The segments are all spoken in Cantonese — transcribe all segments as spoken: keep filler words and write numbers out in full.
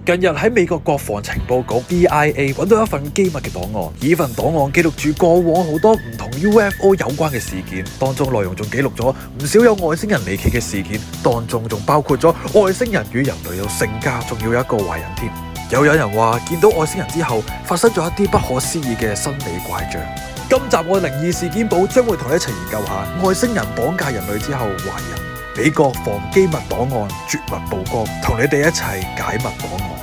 近日喺美國國防情報局 D I A 揾到一份機密嘅檔案，呢份檔案記錄住過往好多唔同 U F O 有關嘅事件，當中內容仲記錄咗唔少有外星人離奇嘅事件，當中仲包括咗外星人與人類有性交，仲要有一個壞人添。又有人話見到外星人之後發生咗一啲不可思議嘅生理怪象。今集我靈異事件簿將會同你一齊研究下外星人綁架人類之後壞人，美國防機密檔案絕密曝光，同你哋一齊解密檔案。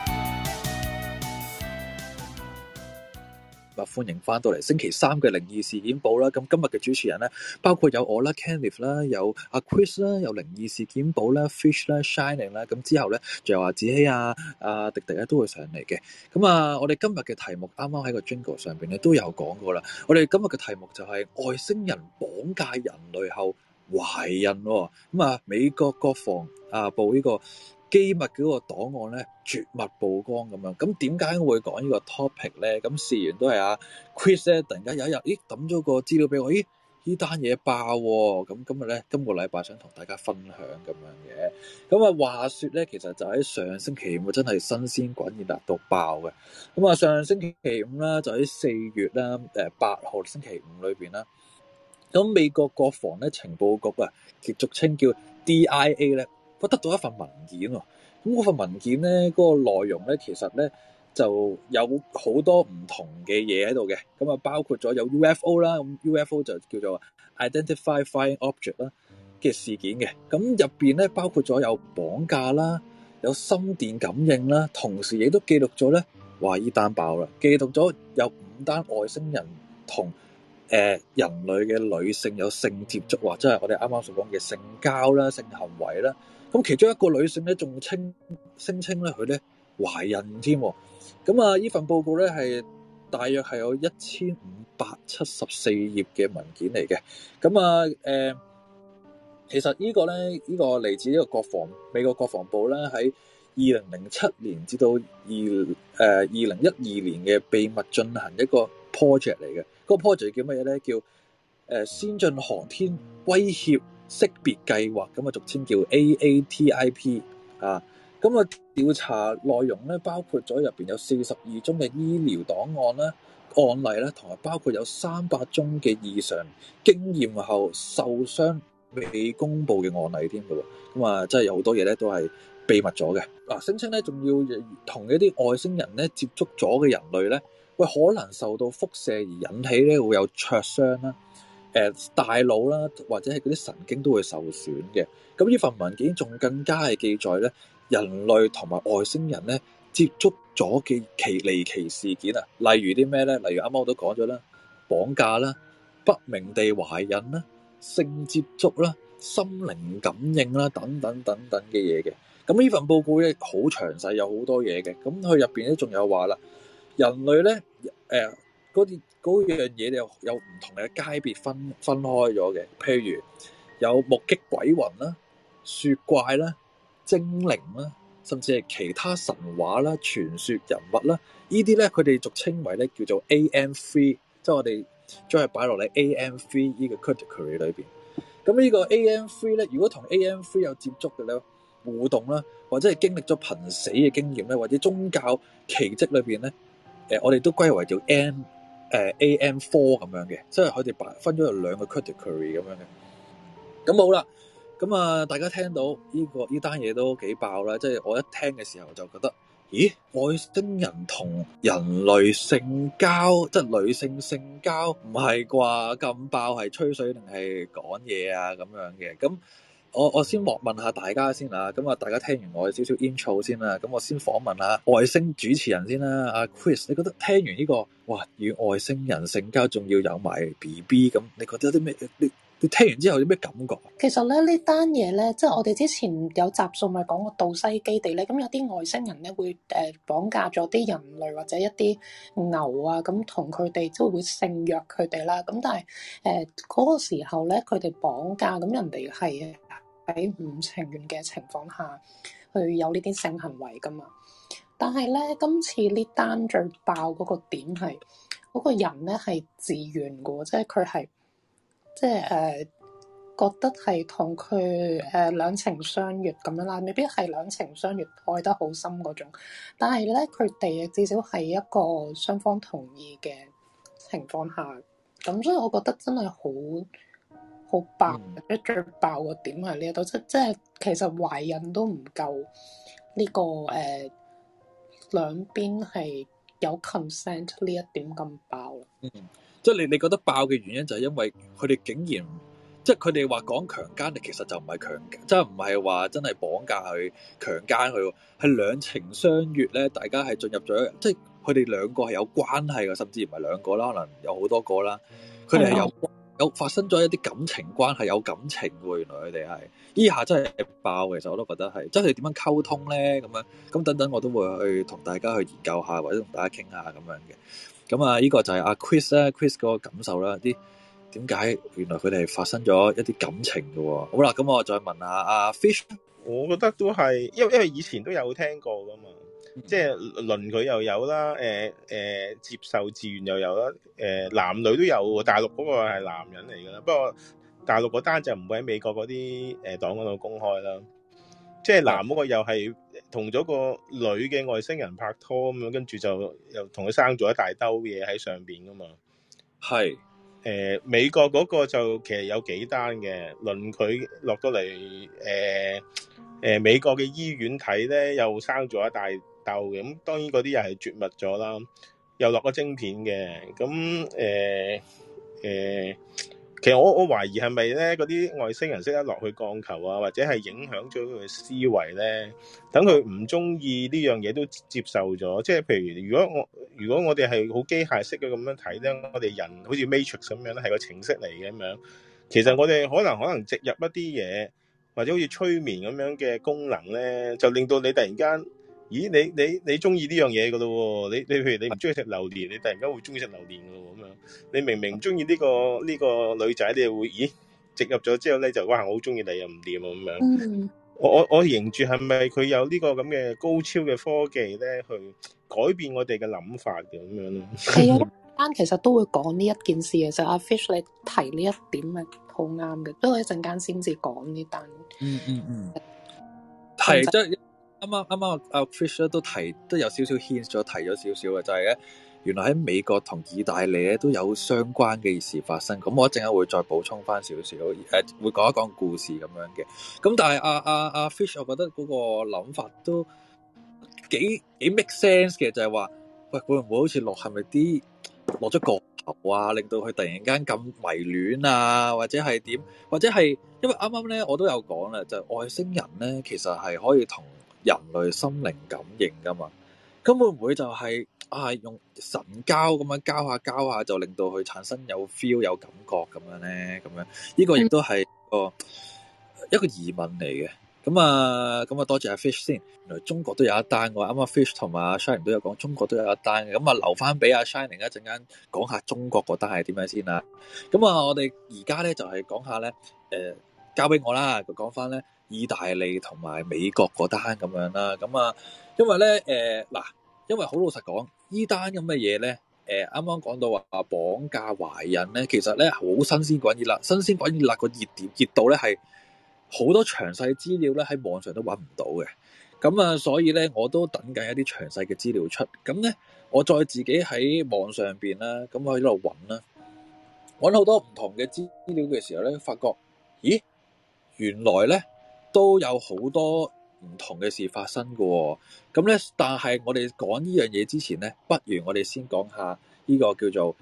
歡迎翻到嚟星期三嘅靈異事件簿啦。咁今日嘅主持人咧，包括有我啦 Kenneth 啦，有阿 Chris 啦，有靈異事件簿啦 Fish 啦 Shining 啦。咁之後咧，仲有阿子希啊、阿迪迪咧都會上嚟嘅。咁啊，我哋今日嘅題目啱啱喺個 Jingle 上邊咧都有講過啦。我哋今日嘅題目就係外星人綁架人類後懷孕喎。咁啊，美國國防啊部呢個機密嗰個檔案咧絕密曝光咁樣，咁點解會講呢個 topic 咧？咁事緣都係阿 Chris 咧，突然間有一日，咦抌咗個資料俾我，咦呢單嘢爆喎！咁今日咧，今個禮拜想同大家分享咁樣嘅。咁啊話説咧，其實就喺上星期五真係新鮮滾熱辣到爆嘅。咁啊上星期五啦，就喺四月啦，誒八號星期五裏邊啦。咁美國國防咧情報局啊，亦俗稱叫 D I A 咧。我得到一份文件喎，咁嗰份文件咧，嗰、嗰個內容咧，其實咧就有好多唔同嘅嘢喺度嘅，咁啊包括咗有 U F O 啦，咁 U F O 就叫做 Identify Flying Object 啦嘅事件嘅，咁入邊咧包括咗有綁架啦，有心電感應啦，同時亦都記錄咗咧，話依單爆啦，記錄咗有五單外星人同誒、呃、人類嘅女性有性接觸，或者係我哋啱啱所講嘅性交啦、性行為啦。咁其中一個女性咧，仲稱聲稱咧佢咧懷孕添。咁啊，呢份報告咧係大約係有一千五百七十四頁嘅文件嚟嘅。咁啊，誒、呃，其實個呢個咧，呢、呢個嚟自呢個國防美國國防部咧，喺二零零七年至到二誒二零一二年嘅秘密進行一個 project 嚟嘅。嗰、嗰個 project 叫乜嘢咧？叫誒、呃、先進航天威脅識別計劃，咁啊俗稱叫 A A T I P 啊，咁啊調查內容咧包括咗入邊有四十二宗嘅醫療檔案啦、案例啦，同埋包括有三百宗嘅異常經驗後受傷未公佈嘅案例添嘅喎，咁啊真係有好多嘢咧都係秘密咗嘅。嗱，聲稱咧仲要同一啲外星人咧接觸咗嘅人類咧，喂可能受到輻射而引起咧會有灼傷啦。誒、呃、大腦啦，或者係嗰啲神經都會受損嘅。咁呢份文件仲更加係記載咧，人類同埋外星人咧接觸咗嘅奇離奇事件啊，例如啲咩咧？例如啱啱我都講咗啦，綁架啦、不明地懷孕啦、性接觸啦、心靈感應啦，等等等等嘅嘢嘅。咁呢份報告咧好詳細，有好多嘢嘅。咁佢入邊咧仲有話啦，人類咧誒嗰啲。嗰樣嘢有有唔同嘅階別分分開咗嘅，譬如有目擊鬼魂啦、雪怪啦、精靈啦，甚至係其他神話啦、傳說人物啦，呢啲咧佢哋俗稱為咧叫做 A M 三，即係我哋將佢擺落嚟 A M 三呢個 category 裏邊。咁呢個 A M 三咧，如果同 A M 三有接觸嘅咧互動啦，或者係經歷咗瀕死嘅經驗咧，或者宗教奇蹟裏邊咧，誒、呃、我哋都歸為叫 M。誒、uh, A M 四咁樣嘅，即係佢哋擺分咗有兩個 category 咁樣嘅。咁好啦，咁啊大家聽到呢、這個呢單嘢都幾爆啦，即係我一聽嘅時候就覺得，咦外星人同人類性交，即係女性性交，唔係啩？咁爆係吹水定係講嘢啊咁樣嘅？咁我我先問問下大家先啊，咁啊大家聽完我少少 intro 先啦，咁我先訪問下外星主持人先啦，阿 Chris，你覺得聽完呢個哇與外星人性交仲要有埋 B B 咁，你覺得有啲咩？你你聽完之後有咩感覺？ 其實咧呢單嘢咧，即係我哋之前有集數咪講過杜西基地咧，咁有啲外星人咧會誒綁架咗啲人類或者一啲牛啊，咁同佢哋即係會性虐佢哋啦。咁但係誒嗰個時候咧，佢哋綁架咁人哋係喺唔情願嘅情況下去有呢啲性行為噶嘛。但係咧今次呢單最爆嗰個點係嗰個人咧係自願嘅，即係佢係即係誒。 覺得係同佢誒兩情相悅咁樣啦，未必係兩情相悅愛得好深嗰種，但係咧佢哋至少係一個雙方同意嘅情況下，咁所以我覺得真係好好爆，或者、嗯、最爆個點係呢一度，即即係其實懷孕都唔夠呢、這個誒、呃、兩邊係有 consent 呢一點咁爆啦。 嗯，即係你你覺得爆嘅原因就係因為佢哋竟然。即係佢哋話講強姦力，其實就唔係強，即係唔係話真係綁架佢、強姦佢，係兩情相悅咧。大家係進入咗，即係佢哋兩個係有關係嘅，甚至唔係兩個啦，可能有好多個啦。佢哋係有有發生咗一啲感情關係，有感情喎。原來佢哋係呢下真係爆，其實我都覺得係，即係點樣溝通咧咁樣咁等等，我都會去同大家去研究下，或者同大家傾下咁樣嘅。咁啊，呢個就係阿 Chris 咧，Chris 嗰個感受啦，啲。點解原來佢哋係發生咗一啲感情嘅喎？好啦，咁我再問下阿 Fish。 我覺得都係，因為因為以前都有聽過噶嘛，嗯、即係輪佢又有啦，誒、呃、誒、呃、接受自願又有啦，誒、呃、男女都有，大陸嗰個係男人嚟噶啦，不過大陸嗰單就唔會喺美國嗰啲誒黨嗰度公開啦，即係男嗰個又係同咗個女嘅外星人拍拖咁樣，跟住就又同佢生咗一大兜嘢喺上邊噶嘛，係。誒、呃，美國嗰個就其實有幾單嘅，輪佢落到嚟，誒誒，美國嘅醫院睇咧，又生咗一大竇嘅，咁當然嗰啲又係絕密咗啦，又落咗晶片嘅，咁誒誒，其實我我懷疑係咪咧嗰啲外星人識得落去降球啊，或者係影響咗佢嘅思維咧，等佢唔中意呢樣嘢都接受咗，即係譬如如果我。如果我哋係好機械式嘅咁樣睇咧，我哋人好似 Matrix 咁樣咧，係個程式嚟嘅咁樣。其實我哋可能可能植入一啲嘢，或者好似催眠咁樣嘅功能咧，就令到你突然間，咦？你你你中意呢樣嘢噶咯？你你譬如你唔中意食榴蓮，你突然間會中意食榴蓮噶喎咁樣。你明明唔中意呢個呢個女仔，你又會咦？植入咗之後咧，就哇我好中意你又唔掂啊咁樣。嗯我我我認住係咪佢有呢個咁嘅高超嘅科技咧，去改變我哋嘅諗法嘅咁樣咯？ 係啊，啱其實都會講呢一件事嘅，就阿 Fish 你提呢一點係好啱嘅，不過一陣間先至講呢單。嗯嗯嗯， 係即係啱啱啱啱阿 Fish 都提都有少少 hint 咗，提咗少少嘅就係咧。原來喺美國同意大利咧都有相關嘅事發生，咁我一陣間會再補充翻少少，誒會講一講故事咁樣嘅。咁但係阿阿阿 Fish，我覺得嗰個諗法都幾幾 make sense 嘅，就係話，喂會唔會好似落係咪啲落咗降頭啊，令到佢突然間咁迷戀啊，或者係點，或者係因為啱啱咧我都有講啦，就係外星人咧其實係可以同人類心靈感應噶嘛，咁會唔會就係？啊！用神交咁樣交下交下，就令到佢產生有 feel 有感覺咁樣咧，咁樣呢個亦都係個一個疑問嚟嘅。咁啊，咁啊，多謝阿 Fish 先。原來中國都有一單，我啱啱 Fish 同埋阿 Shining 都有講，中國都有一單嘅。咁啊，留翻俾阿 Shining 一陣間講下中國嗰單係點樣先啦。咁啊，我哋而家咧就係講下咧，誒，交俾我啦，講翻咧意大利同埋美國嗰單咁樣啦。咁啊，因為咧，誒嗱。因為好老實講，依單咁嘅嘢咧，誒啱啱講到話綁架懷孕咧，其實咧好新鮮滾熱辣，新鮮滾熱辣個熱點熱度咧係好多詳細資料咧喺網上都揾唔到嘅，咁啊所以咧我都等緊一啲詳細嘅資料出，咁咧我再自己喺網上邊啦，咁我喺度揾啦，揾好多唔同嘅資料嘅時候咧，發覺咦原來咧都有好多唔同嘅事發生嘅喎，咁咧，但係我哋講呢樣嘢之前咧，不如我哋先講下呢個叫做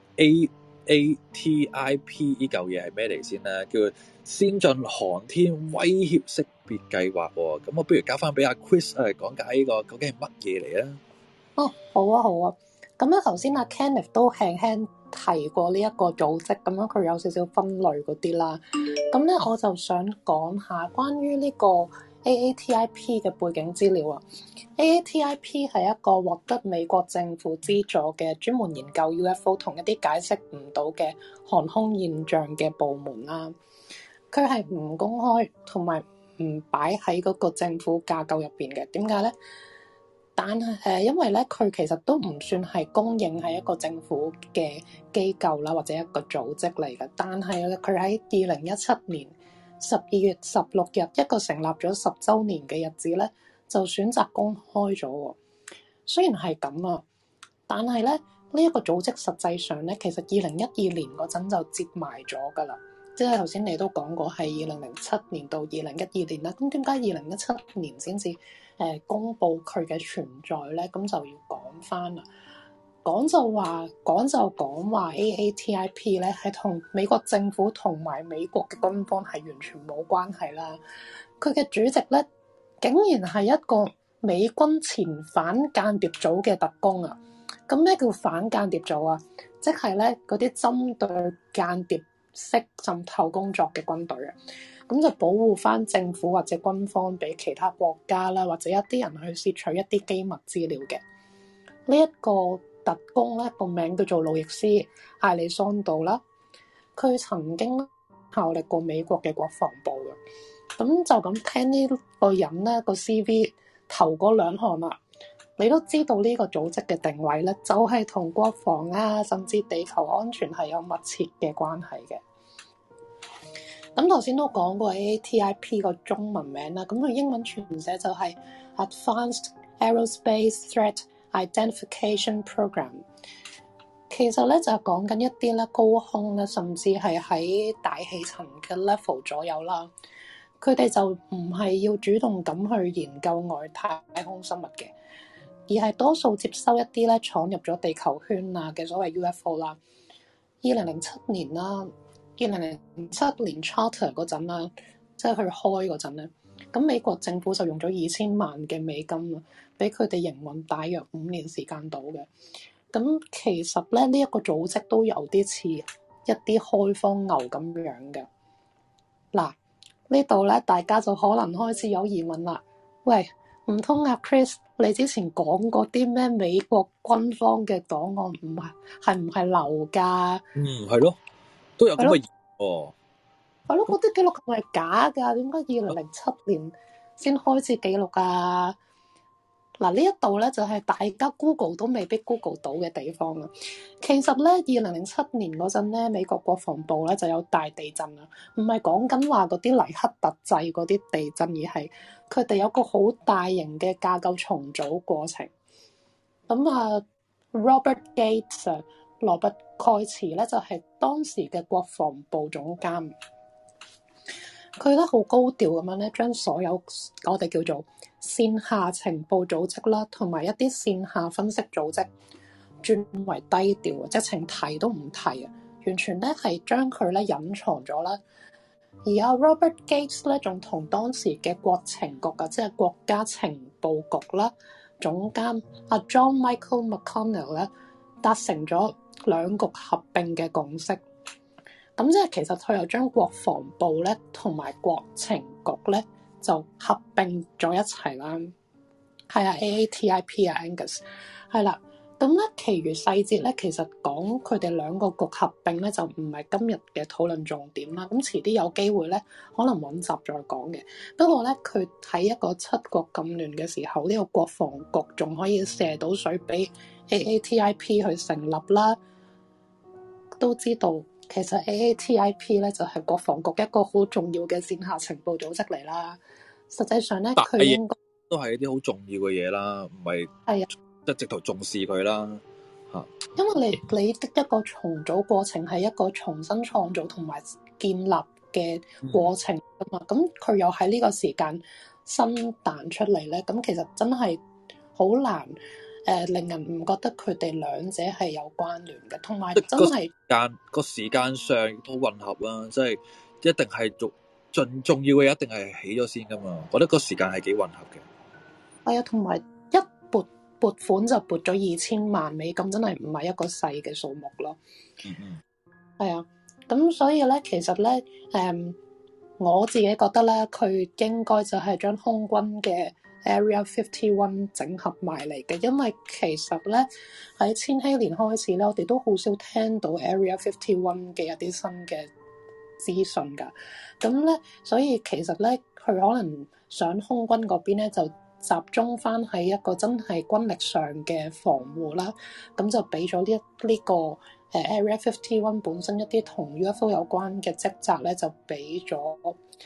A A T I P 呢嚿嘢係咩嚟先啦，叫做先進航天威脅識別計劃喎。咁我不如交翻俾阿 Chris 誒講解呢個究竟係乜嘢嚟啊？ 哦，好啊，好啊。咁咧頭先阿 Kenneth 都輕輕提過呢一個組織，咁樣佢有少少分類嗰啲啦。咁咧我就想講下關於呢個 A A T I P 嘅背景資料啊。A A T I P 係一個獲得美國政府資助嘅專門研究 U F O 同一啲解釋唔到嘅航空現象嘅部門啦。佢係唔公開同埋唔擺喺嗰個政府架構入邊嘅。點解咧？但係誒，因為咧佢其實都唔算係公認係一個政府嘅機構啦，或者一個組織嚟嘅。但係佢喺二零一七年十二月十六日一個成立咗十週年嘅日子咧，就選擇公開咗喎。雖然係咁啊，但係咧呢一個組織實際上咧，其實二零一二年嗰陣就接埋咗㗎啦。即係頭先你都講過係二零零七年到二零一二年啦。咁點解二零一七年先至誒公佈佢嘅存在咧？咁就要講翻啦。講就話講就講話 A A T I P 咧係同美國政府同埋美國嘅軍方係完全冇關係啦。佢嘅主席咧竟然係一個美軍前反間諜組嘅特工啊！咁咩叫反間諜組啊？即係咧嗰啲針對間諜式滲透工作嘅軍隊啊！咁就保護翻政府或者軍方俾其他國家啦，或者一啲人去竊取一啲機密資料嘅。呢一個特工咧個名叫做路易斯艾利桑度啦，佢曾經效力過美國嘅國防部嘅。咁就咁聽呢個人咧個 C V 頭嗰兩項啦，你都知道呢個組織嘅定位咧，就係同國防啊，甚至地球安全係有密切嘅關係嘅。咁頭先都講過 A A T I P 個中文名啦，咁佢英文全寫就係 Advanced Aerospace Threat Identification Program。其實咧就係講緊一啲咧高空咧，甚至係喺大氣層嘅 level 左右啦。佢哋就唔係要主動咁去研究外太空生物嘅，而係多數接收一啲咧闖入咗地球圈啊嘅所謂 U F O 啦。二零零七年啦，二零零七年 Charter 嗰陣啦，即係去開嗰陣咧，咁美國政府就用咗二千萬嘅美金啊，俾佢哋營運大約五年時間到嘅。咁其實咧呢一個組織都有啲似一啲開荒牛咁樣嘅。嗱，呢度咧大家就可能開始有疑問啦。喂，唔通阿 Chris 你之前講過啲咩美國軍方嘅檔案唔係係唔係流㗎？ 嗯，係咯，都有咁嘅哦。 係咯，嗰啲記錄係咪假㗎？點解二零零七年先開始記錄啊？嗱，呢一度咧就係大家 Google 都未必 Google 到嘅地方啦。其實咧，二零零七年嗰陣咧，美國國防部咧就有大地震啊，唔係講緊話嗰啲黎克特制嗰啲地震，而係佢哋有個好大型嘅架構重組過程。咁啊 ，Robert Gates 啊，羅伯蓋茨咧就係當時嘅國防部總監。佢咧好高調咁樣咧，將所有我哋叫做線下情報組織啦，同埋一啲線下分析組織轉為低調，直情提都唔提啊！完全咧係將佢咧隱藏咗啦。而阿 Robert Gates 咧，仲同當時嘅國情局啊，即係國家情報局啦，總監阿 John Michael McConnell 咧，達成咗兩局合併嘅共識。咁即係其實佢又將國防部咧同埋國情局咧就合併咗一齊啦。係啊 ，A A T I P 啊 ，Angus 係啦。咁咧，其餘細節咧，其實講佢哋兩個局合併咧，就唔係今日嘅討論重點啦。咁遲啲有機會咧，可能揾集再講嘅。不過咧，佢喺一個七國咁亂嘅時候，呢、這個國防局仲可以射到水俾 A A T I P 去成立啦，都知道。其實 A A T I P 咧就係國防局一個好重要嘅線下情報組織嚟啦。實際上咧，佢應該都係一啲好重要嘅嘢啦，唔係係啊， 即係直頭重視佢啦嚇。 因為你你的一個重組過程係一個重新創造同埋建立嘅過程啊嘛。咁佢、嗯、又喺呢個時間新彈出嚟咧，咁其實真係好難。誒、呃、令人唔覺得佢哋兩者係有關聯嘅，同埋真係間個時間上都混合啦，即係一定係重重重要嘅嘢，一定係起咗先噶嘛。我覺得個時間係幾混合嘅。 係啊，同埋一撥撥款就撥咗二千萬美金，真係唔係一個細嘅數目咯。 嗯嗯， 係啊，咁所以咧，其實咧，誒、嗯，我自己覺得咧，佢應該就係將空軍嘅Area fifty-one 整合埋嚟嘅，因為其實咧喺千禧年開始咧，我哋都好少聽到 Area fifty-one 嘅一啲新嘅資訊㗎。咁咧，所以其實咧，佢可能上空軍嗰邊咧，就集中翻喺一個真係軍力上嘅防護啦。咁就俾咗呢一呢個誒 Area fifty-one 本身一啲同 U F O 有關嘅職責咧，就俾咗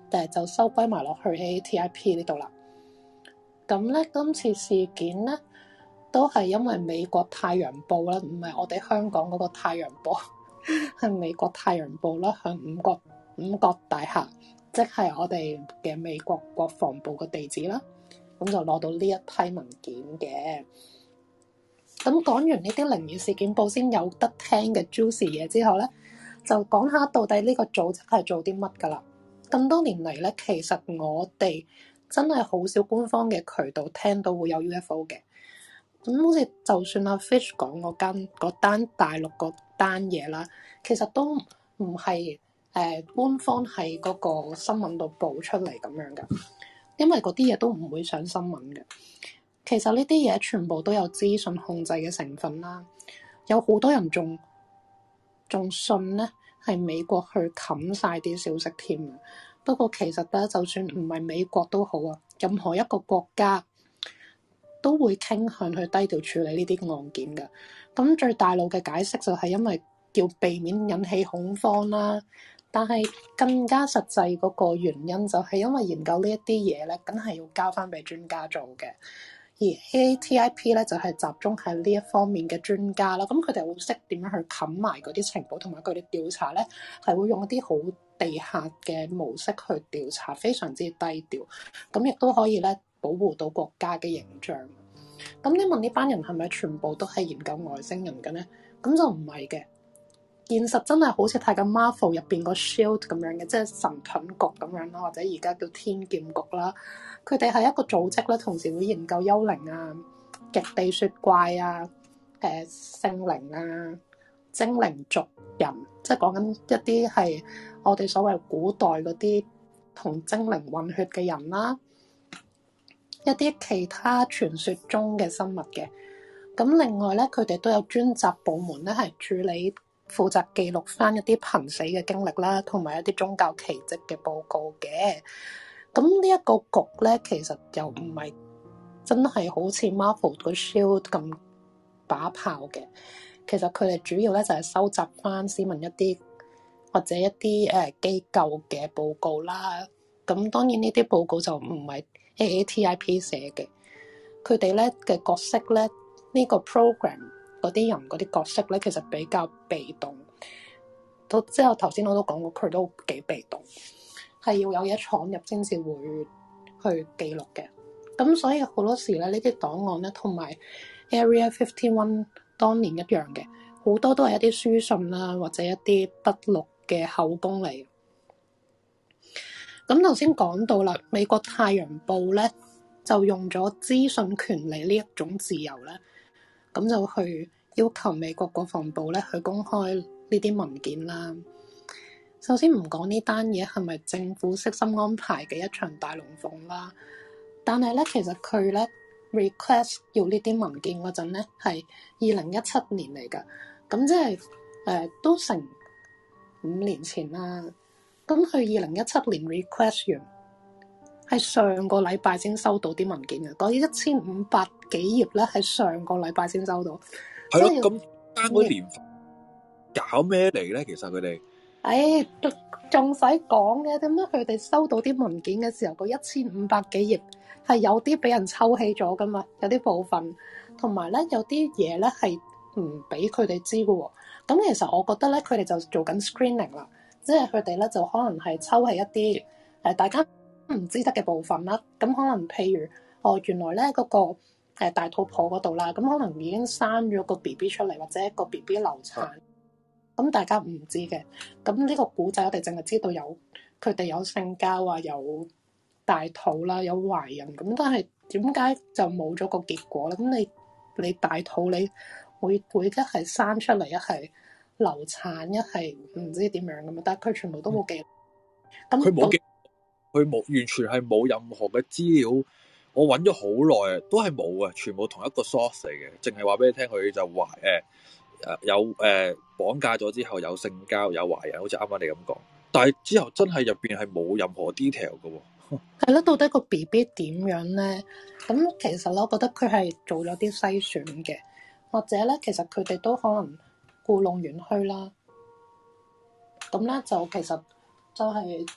誒就收歸埋落去 A A T I P 呢度啦。咁咧今次事件咧都係因為美國太陽報啦，唔係我哋香港嗰個太陽報，係美國太陽報啦，向五角五角大廈，即係我哋嘅美國國防部嘅地址啦。咁就攞到呢一批文件嘅。咁講完呢啲靈異事件簿先有得聽嘅 juicy 嘢之後咧，就講下到底呢個組織係做啲乜㗎啦。咁多年嚟咧，其實我哋真係好少官方嘅渠道聽到會有 U F O 嘅。咁好似就算阿 Fish 講嗰間嗰單大陸嗰單嘢啦，其實都唔係誒官方喺嗰個新聞度報出嚟咁樣㗎。因為嗰啲嘢都唔會上新聞嘅。其實呢啲嘢全部都有資訊控制嘅成分啦。有好多人仲仲信咧係美國去冚晒啲消息添啊。不過其實咧，就算唔係美國都好啊，任何一個國家都會傾向去低調處理呢啲案件嘅。咁最大路嘅解釋就係因為要避免引起恐慌啦。但係更加實際嗰個原因就係因為研究呢一啲嘢咧，梗係要交翻俾專家做嘅。而 A A T I P 咧就係集中喺呢一方面嘅專家啦。咁佢哋會識點樣去冚埋嗰啲情報，同埋佢哋調查咧係會用一啲好地下嘅模式去調查，非常之低調。咁亦都可以咧保護到國家嘅形象。咁你問呢班人係咪全部都係研究外星人嘅咧？咁就唔係嘅。現實真係好似睇緊 Marvel 入邊個 Shield 咁樣嘅，即係神盾局咁樣啦，或者而家叫天劍局啦。佢哋係一個組織咧，同時會研究幽靈啊、極地雪怪啊、誒聖靈啊、精靈族人，即係講緊一啲係我哋所謂古代嗰啲同精靈混血嘅人啦，一啲其他傳說中嘅生物嘅。咁另外咧，佢哋都有專責部門咧，係處理。負責記錄翻一啲瀕死嘅經歷啦，同埋一啲宗教奇蹟嘅報告嘅。咁呢一個局咧，其實又唔係真係好似 Marvel 個 Shield 咁把炮嘅。其實佢哋主要咧就係收集翻市民一啲或者一啲誒機構嘅報告啦。咁當然呢啲報告就唔係 A A T I P 寫嘅。佢哋咧嘅角色咧，呢個 program。嗰啲人嗰啲角色咧，其實比較被動。到之後頭先我都講過，佢都幾被動，係要有嘢闖入先至會去記錄嘅。咁所以好多時咧，呢啲檔案咧，同埋 Area Fifty One 當年一樣嘅，好多都係一啲書信啦，或者一啲筆錄嘅口供嚟。咁頭先講到啦，美國太陽報咧就用咗資訊權利呢一種自由咧。咁就去要求美國國防部咧去公開呢啲文件啦。首先唔講呢單嘢係咪政府悉心安排嘅一場大龍鳳啦，但係咧其實佢咧 request 要呢啲文件嗰陣咧係二零一七年嚟㗎，咁即係誒、呃、都成五年前啦。咁佢二零一七年 request 完。係上個禮拜先收到啲文件嘅，嗰一千五百幾頁咧，係上個禮拜先收到。 係咯，咁單嗰年份搞咩嚟咧？其實佢哋， 誒仲使講嘅？點解佢哋收到啲文件嘅時候，嗰一千五百幾頁係有啲俾人抽起咗噶嘛？有啲部分，同埋咧有啲嘢咧係唔俾佢哋知嘅喎。咁其實我覺得咧，佢哋就做緊 screening 啦，即係佢哋咧就可能係抽起一啲誒、呃、大家唔知得嘅部分啦，咁可能譬如哦，原來咧嗰、那個、呃、大肚婆嗰度啦，咁可能已經生咗個 B B 出嚟，或者一個 B B 流產，咁、啊、大家唔知嘅。咁呢個古仔我哋淨係知道有佢哋有性交啊，有大肚啦，有懷孕，咁但係點解就冇咗個結果咧？咁你你大肚你會會一係生出嚟，一係流產，一係唔知點樣咁嘛？但係佢全部都冇記，咁佢冇記。佢冇完全係冇任何嘅資料，我揾咗好耐啊，都係冇啊，全部同一個 source 嚟嘅，淨係話俾你聽佢就懷誒誒有誒、呃、綁架咗之後有性交有懷孕，好似啱啱你咁講，但係之後真係入邊係冇任何 detail 嘅喎。 係咯，到底個 B B 點樣咧？咁其實咧，我覺得佢係做咗啲篩選嘅，或者咧，其實佢哋都可能故弄玄虛啦。咁咧就其實就係、是。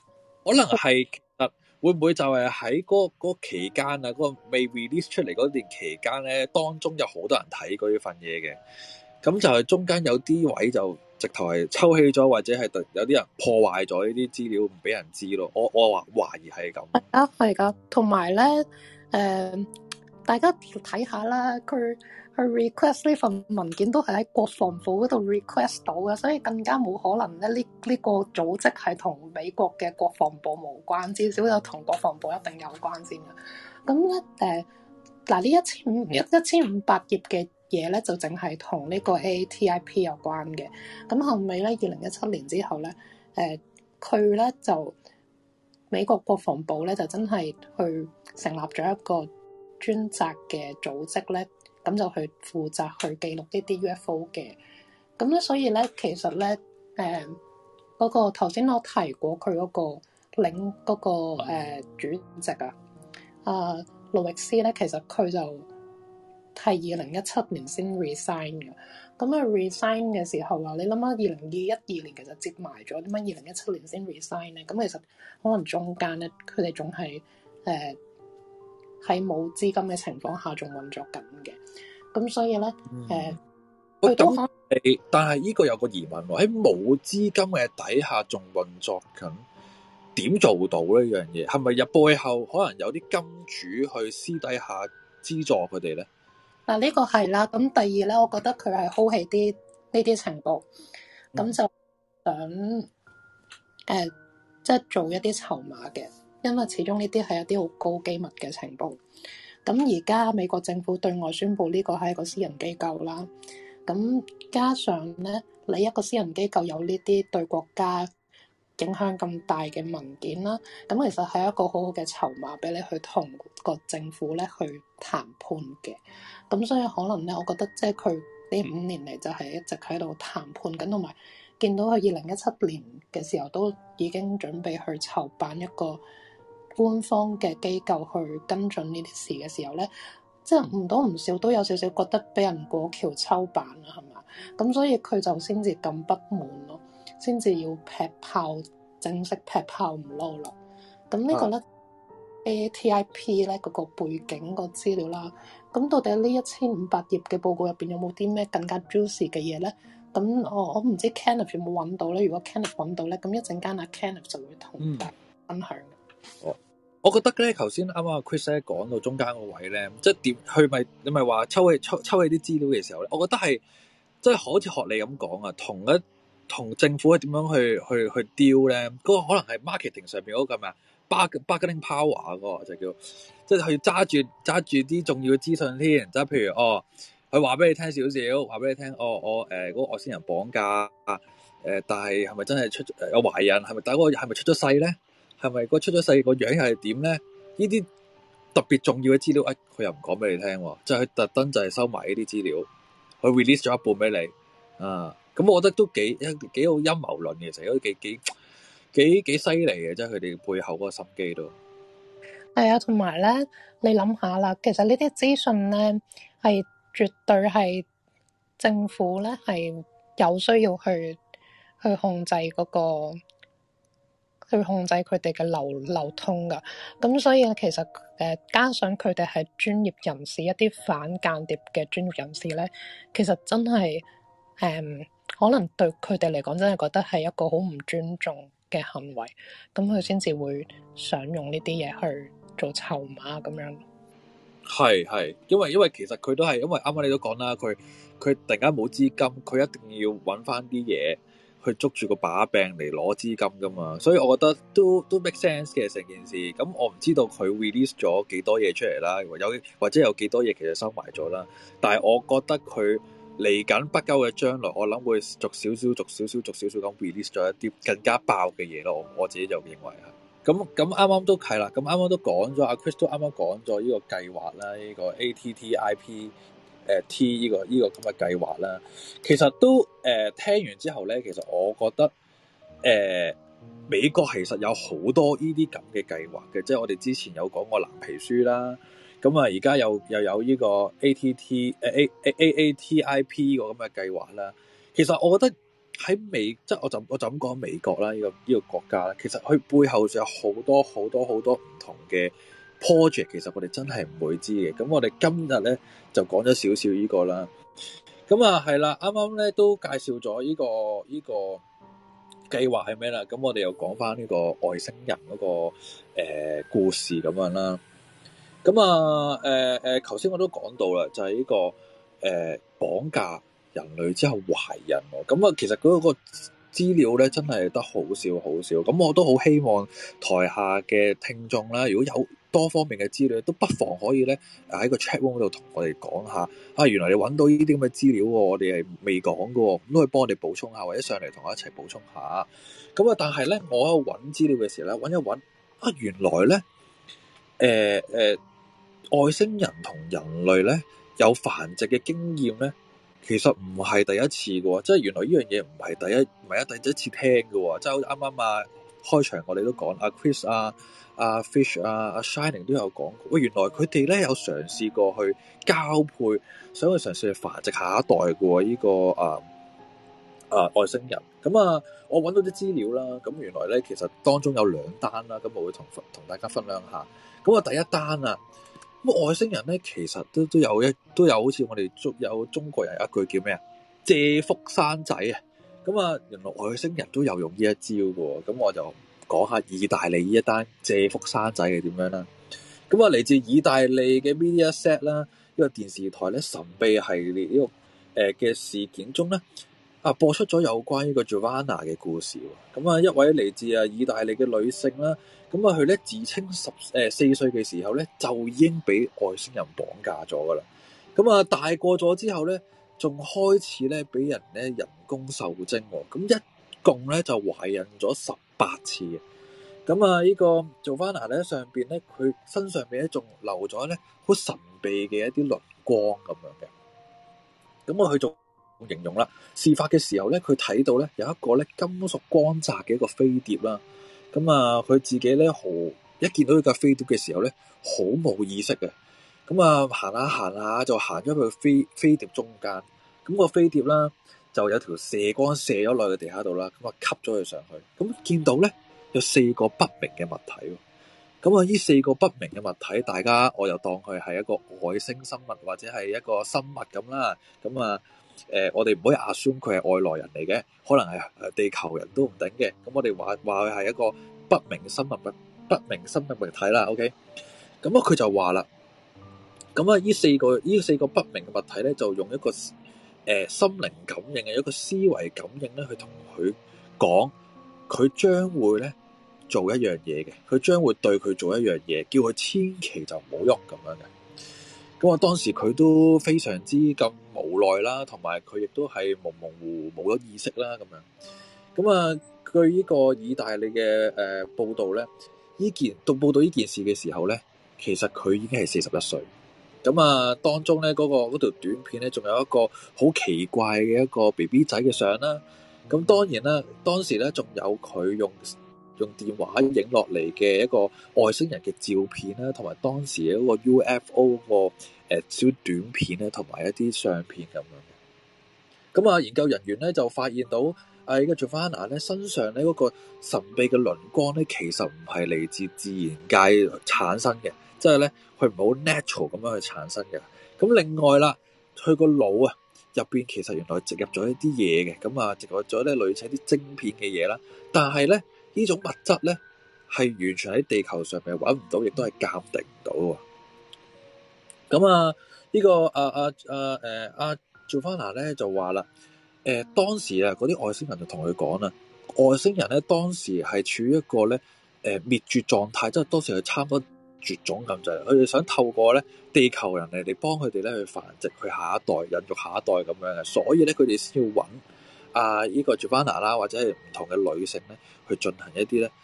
可能係其實會唔會就係喺嗰嗰期間啊，嗰、嗰個未 release 出嚟嗰段期間咧，當中有好多人睇過呢份嘢嘅，咁就係中間有啲位就直頭係抽起咗，或者係有啲人破壞咗呢啲資料唔俾人知咯。我我話懷疑係咁。 係啊，係噶，同埋咧，誒、呃，大家睇下啦，佢。去 request 呢份文件都係喺國防部嗰度 request 到嘅，所以更加冇可能咧呢呢個組織係同美國嘅國防部無關，至少有同國防部一定有關先嘅。咁咧誒嗱呢一千五一一千五百頁嘅嘢咧就淨係同呢個 A A T I P 有關嘅。咁後尾咧二零一七年之後咧誒佢咧就美國國防部咧就真係去成立咗一個專責嘅組織咧。咁就去負責去記錄呢啲 U F O 嘅，咁咧所以咧其實咧誒嗰個頭先我提過佢嗰個領嗰、嗰個、呃、主席啊，啊路易斯咧，其實佢就係二零一七年先 resign 嘅，咁啊 resign 嘅時候啊，你諗下二零二一二年其實接埋咗，點解二零一七年先 resign 咧？咁其實可能中間咧佢哋仲係誒喺冇資金嘅情況下仲運作緊嘅。咁所以咧，誒、嗯，佢都可能， 但係呢個有個疑問喎，喺冇資金嘅底下仲運作緊，點做到呢樣嘢？係咪入背後可能有啲金主去私底下資助佢哋咧？嗱， 呢個係啦。咁第二咧，我覺得佢係 hold 起啲呢啲情報，咁、嗯、就想誒，即、呃、係、就是、做一啲籌碼嘅，因為始終呢啲係一啲好高機密嘅情報。咁而家美國政府對外宣布呢個係一個私人機構啦，咁加上咧，你一個私人機構有呢啲對國家影響咁大嘅文件啦，咁其實係一個好好嘅籌碼俾你去同個政府咧去談判嘅。咁所以可能咧，我覺得即係佢呢五年嚟就係一直喺度談判緊，同埋見到佢二零一七年嘅時候都已經準備去籌辦一個官方嘅機構去跟進呢啲事嘅時候咧，即係唔多唔少都有少少覺得俾人過橋抽板啦，係嘛？咁所以佢就先至咁不滿咯，先至要劈炮，正式劈炮唔撈啦。咁呢個咧、啊、A T I P 咧嗰個背景個資料啦，咁到底呢一千五百頁嘅報告入邊有冇啲咩更加 juicy 嘅嘢咧？咁我我唔知 Kenneth 有冇揾到咧。如果 Kenneth 揾到咧，咁一陣間阿 Kenneth 就會同大家分享。 哦，我覺得咧，頭先啱啱阿 Chris 咧講到中間個位咧，即係點？佢咪你咪話抽起抽抽起啲資料嘅時候咧，我覺得係即係好似學你咁講啊，同一同政府係點樣去去去 deal 咧？嗰、那個可能係 marketing 上面嗰個咩啊 bargaining power 嗰個就叫，即係去揸住揸住啲重要嘅資訊添。即係譬如哦，佢話俾你聽少少，話俾你聽，哦，我誒嗰、呃那個外星人綁架啊，誒、呃，但係係咪真係出有懷孕？係咪第一個係咪出咗世咧？係咪個出咗世個樣又係點咧？呢啲特別重要嘅資料，誒、哎，佢又唔講俾你聽，即係佢特登就係收埋呢啲資料，佢 release 咗一半俾你啊。咁我覺得都幾幾好陰謀論嘅，其實都幾幾幾幾犀利嘅，即係佢哋背後嗰個心機都係啊。同埋咧，你諗下啦，其實呢啲資訊咧係絕對係政府咧係有需要去去控制嗰個。去控制佢哋嘅流流通噶，咁所以其實誒、呃、加上佢哋係專業人士，一啲反間諜嘅專業人士咧，其實真係誒、嗯、可能對佢哋嚟講真係覺得係一個好唔尊重嘅行為，咁佢先至會想用呢啲嘢去做籌碼咁樣。 係係，因為因為其實佢都係因為啱啱你都講啦，佢佢突然間冇資金，佢一定要揾翻啲嘢去捉住個把柄嚟攞資金噶嘛，所以我覺得都都 make sense 嘅成件事。咁我唔知道佢 release 咗幾多嘢出嚟啦，有或者有幾多嘢其實收埋咗啦。但係我覺得佢嚟緊不久嘅將來，我諗會逐少少、逐少少、逐少少咁 release 咗一啲更加爆嘅嘢咯。我自己就認為係。咁咁啱啱都係啦，咁啱啱都講咗，阿 Chris 都啱啱講咗呢個計劃啦，呢、呢個 A T T I P。誒 T 呢、這個呢、這個咁嘅計劃啦，其實都誒、呃、聽完之後咧，其實我覺得誒、呃、美國其實有好多呢啲咁嘅計劃嘅，即係我哋之前有講過藍皮書啦，咁啊而家又又有呢個 A T T 誒 A A A A T I P 個咁嘅計劃啦。其實我覺得喺美，即係我就我就咁講美國啦，呢、這個呢、這個國家咧，其實佢背後就有好多好多好多唔同嘅 project，其實我哋真係唔會知嘅。咁我哋今日咧就講咗少少呢個啦。咁啊係啦，啱啱咧都介紹咗呢、這個呢、這個計劃係咩啦？咁我哋又講翻呢個外星人嗰、那個誒、呃、故事咁樣啦。咁啊誒誒，頭、呃、先我都講到啦，就係、是、呢、這個誒、呃、綁架人類之後懷孕喎。咁啊，其實嗰個資料咧真係得好少好少。咁我都好希望台下嘅聽眾啦，如果有多方面嘅資料，都不妨可以咧喺個 chat room 度同我哋講下。啊，原來你揾到呢啲咁嘅資料喎，我哋係未講嘅喎，咁都可以幫我哋補充下，或者上嚟同我一齊補充下。咁啊，但係咧，我喺度揾資料嘅時候咧，揾一揾啊，原來咧，誒、呃、誒、呃，外星人同人類咧有繁殖嘅經驗咧，其實唔係第一次嘅喎，即係原來呢樣嘢唔係第一，唔係一第一次聽嘅喎，即係好似啱啱啊開場我哋都講，阿 Chris 啊、阿 Fish 啊、阿 Shining 都有講過，喂，原來佢哋咧有嘗試過去交配，想去嘗試去繁殖下一代嘅喎，呢、這個啊啊外星人。咁啊，我揾到啲資料啦，咁原來咧其實當中有兩單啦，咁我會同同大家分享下。咁啊，第一單啊。咁外星人咧，其實都都有一都有好似我哋中有中國人有一句叫咩啊？借腹生仔啊！咁啊，原來外星人都有用呢一招嘅喎。咁我就講下意大利呢一單借腹生仔係點樣啦。咁啊，嚟自意大利嘅 Mediaset 啦，呢個電視台咧神秘系列呢個誒嘅事件中咧，啊播出咗有關呢個 Giovanna 嘅故事。咁啊，一位嚟自啊意大利嘅女性啦。咁啊，佢咧自稱十誒四歲嘅時候咧，就已經俾外星人綁架咗噶啦。咁啊，大個咗之後咧，仲開始咧俾人咧人工受精喎。咁一共咧就懷孕咗十八次嘅。咁啊，呢個 Giovanna 咧上邊咧，佢身上邊咧仲留咗咧好神秘嘅一啲鱗光咁樣嘅。咁啊，佢仲形容啦，事發嘅時候咧，佢睇到咧有一個咧金屬光澤嘅一個飛碟啦。咁啊，佢自己咧，好一見到呢架飛碟嘅時候咧，好冇意識嘅。咁啊，行下行下就行咗去飛飛碟中間。咁個飛碟啦，就有條射光射咗落去地下度啦。咁啊，吸咗佢上去。咁見到咧有四個不明嘅物體。咁啊，呢四個不明嘅物體，大家我又當佢係一個外星生物或者係一個生物咁啦。咁啊，誒、呃，我哋唔可以 assume 佢係外來人嚟嘅，可能係誒地球人都唔定嘅。咁我哋話話佢係一個不明生物物不明生物物體啦。OK，咁啊，佢就話啦，咁啊，呢四個呢四個不明嘅物體咧，就用一個誒、呃、心靈感應嘅一個思維感應咧，去同佢講，佢將會咧做一樣嘢嘅，佢將會對佢做一樣嘢，叫佢千祈就唔好喐咁樣嘅。咁啊，當時佢都非常之咁無奈啦，同埋佢亦都係模模糊糊冇咗意識啦咁樣。咁啊，據呢個意大利嘅誒、呃、報道咧，呢件到報道呢件事嘅時候咧，其實佢已經係四十一歲。咁啊，當中咧嗰、嗰個嗰條短片咧，仲有一個好奇怪嘅一個 B B 仔嘅相啦。咁當然啦，當時咧仲有佢用用電話影落嚟嘅一個外星人嘅照片啦，同埋當時嘅嗰個 U F O 個誒小短片咧，同埋一啲相片咁樣嘅。咁啊，研究人員咧就發現到啊，呢個 Giovanna 咧身上咧嗰個神秘嘅鱗光咧，其實唔係嚟自自然界產生嘅，即係咧佢唔係好 natural 咁樣去產生嘅。咁另外啦，佢個腦啊入邊其實原來植入咗一啲嘢嘅，咁啊植入咗咧類似啲晶片嘅嘢啦，但係咧呢種物質咧係完全喺地球上面揾唔到，亦都係鑑定唔到喎。咁啊，呢、這個啊啊啊誒阿 Giovanna 咧就話啦，誒、呃、當時啊嗰啲外星人就同佢講啦，外星人咧當時係處於一個咧誒滅絕狀態，即係當時係差唔多絕種咁滯，佢哋想透過咧地球人嚟嚟幫佢哋咧去繁殖佢下一代、孕育下一代咁樣嘅，所以咧佢哋先要揾啊呢個 Giovanna 啦，或者係唔同嘅女性咧去進行一啲咧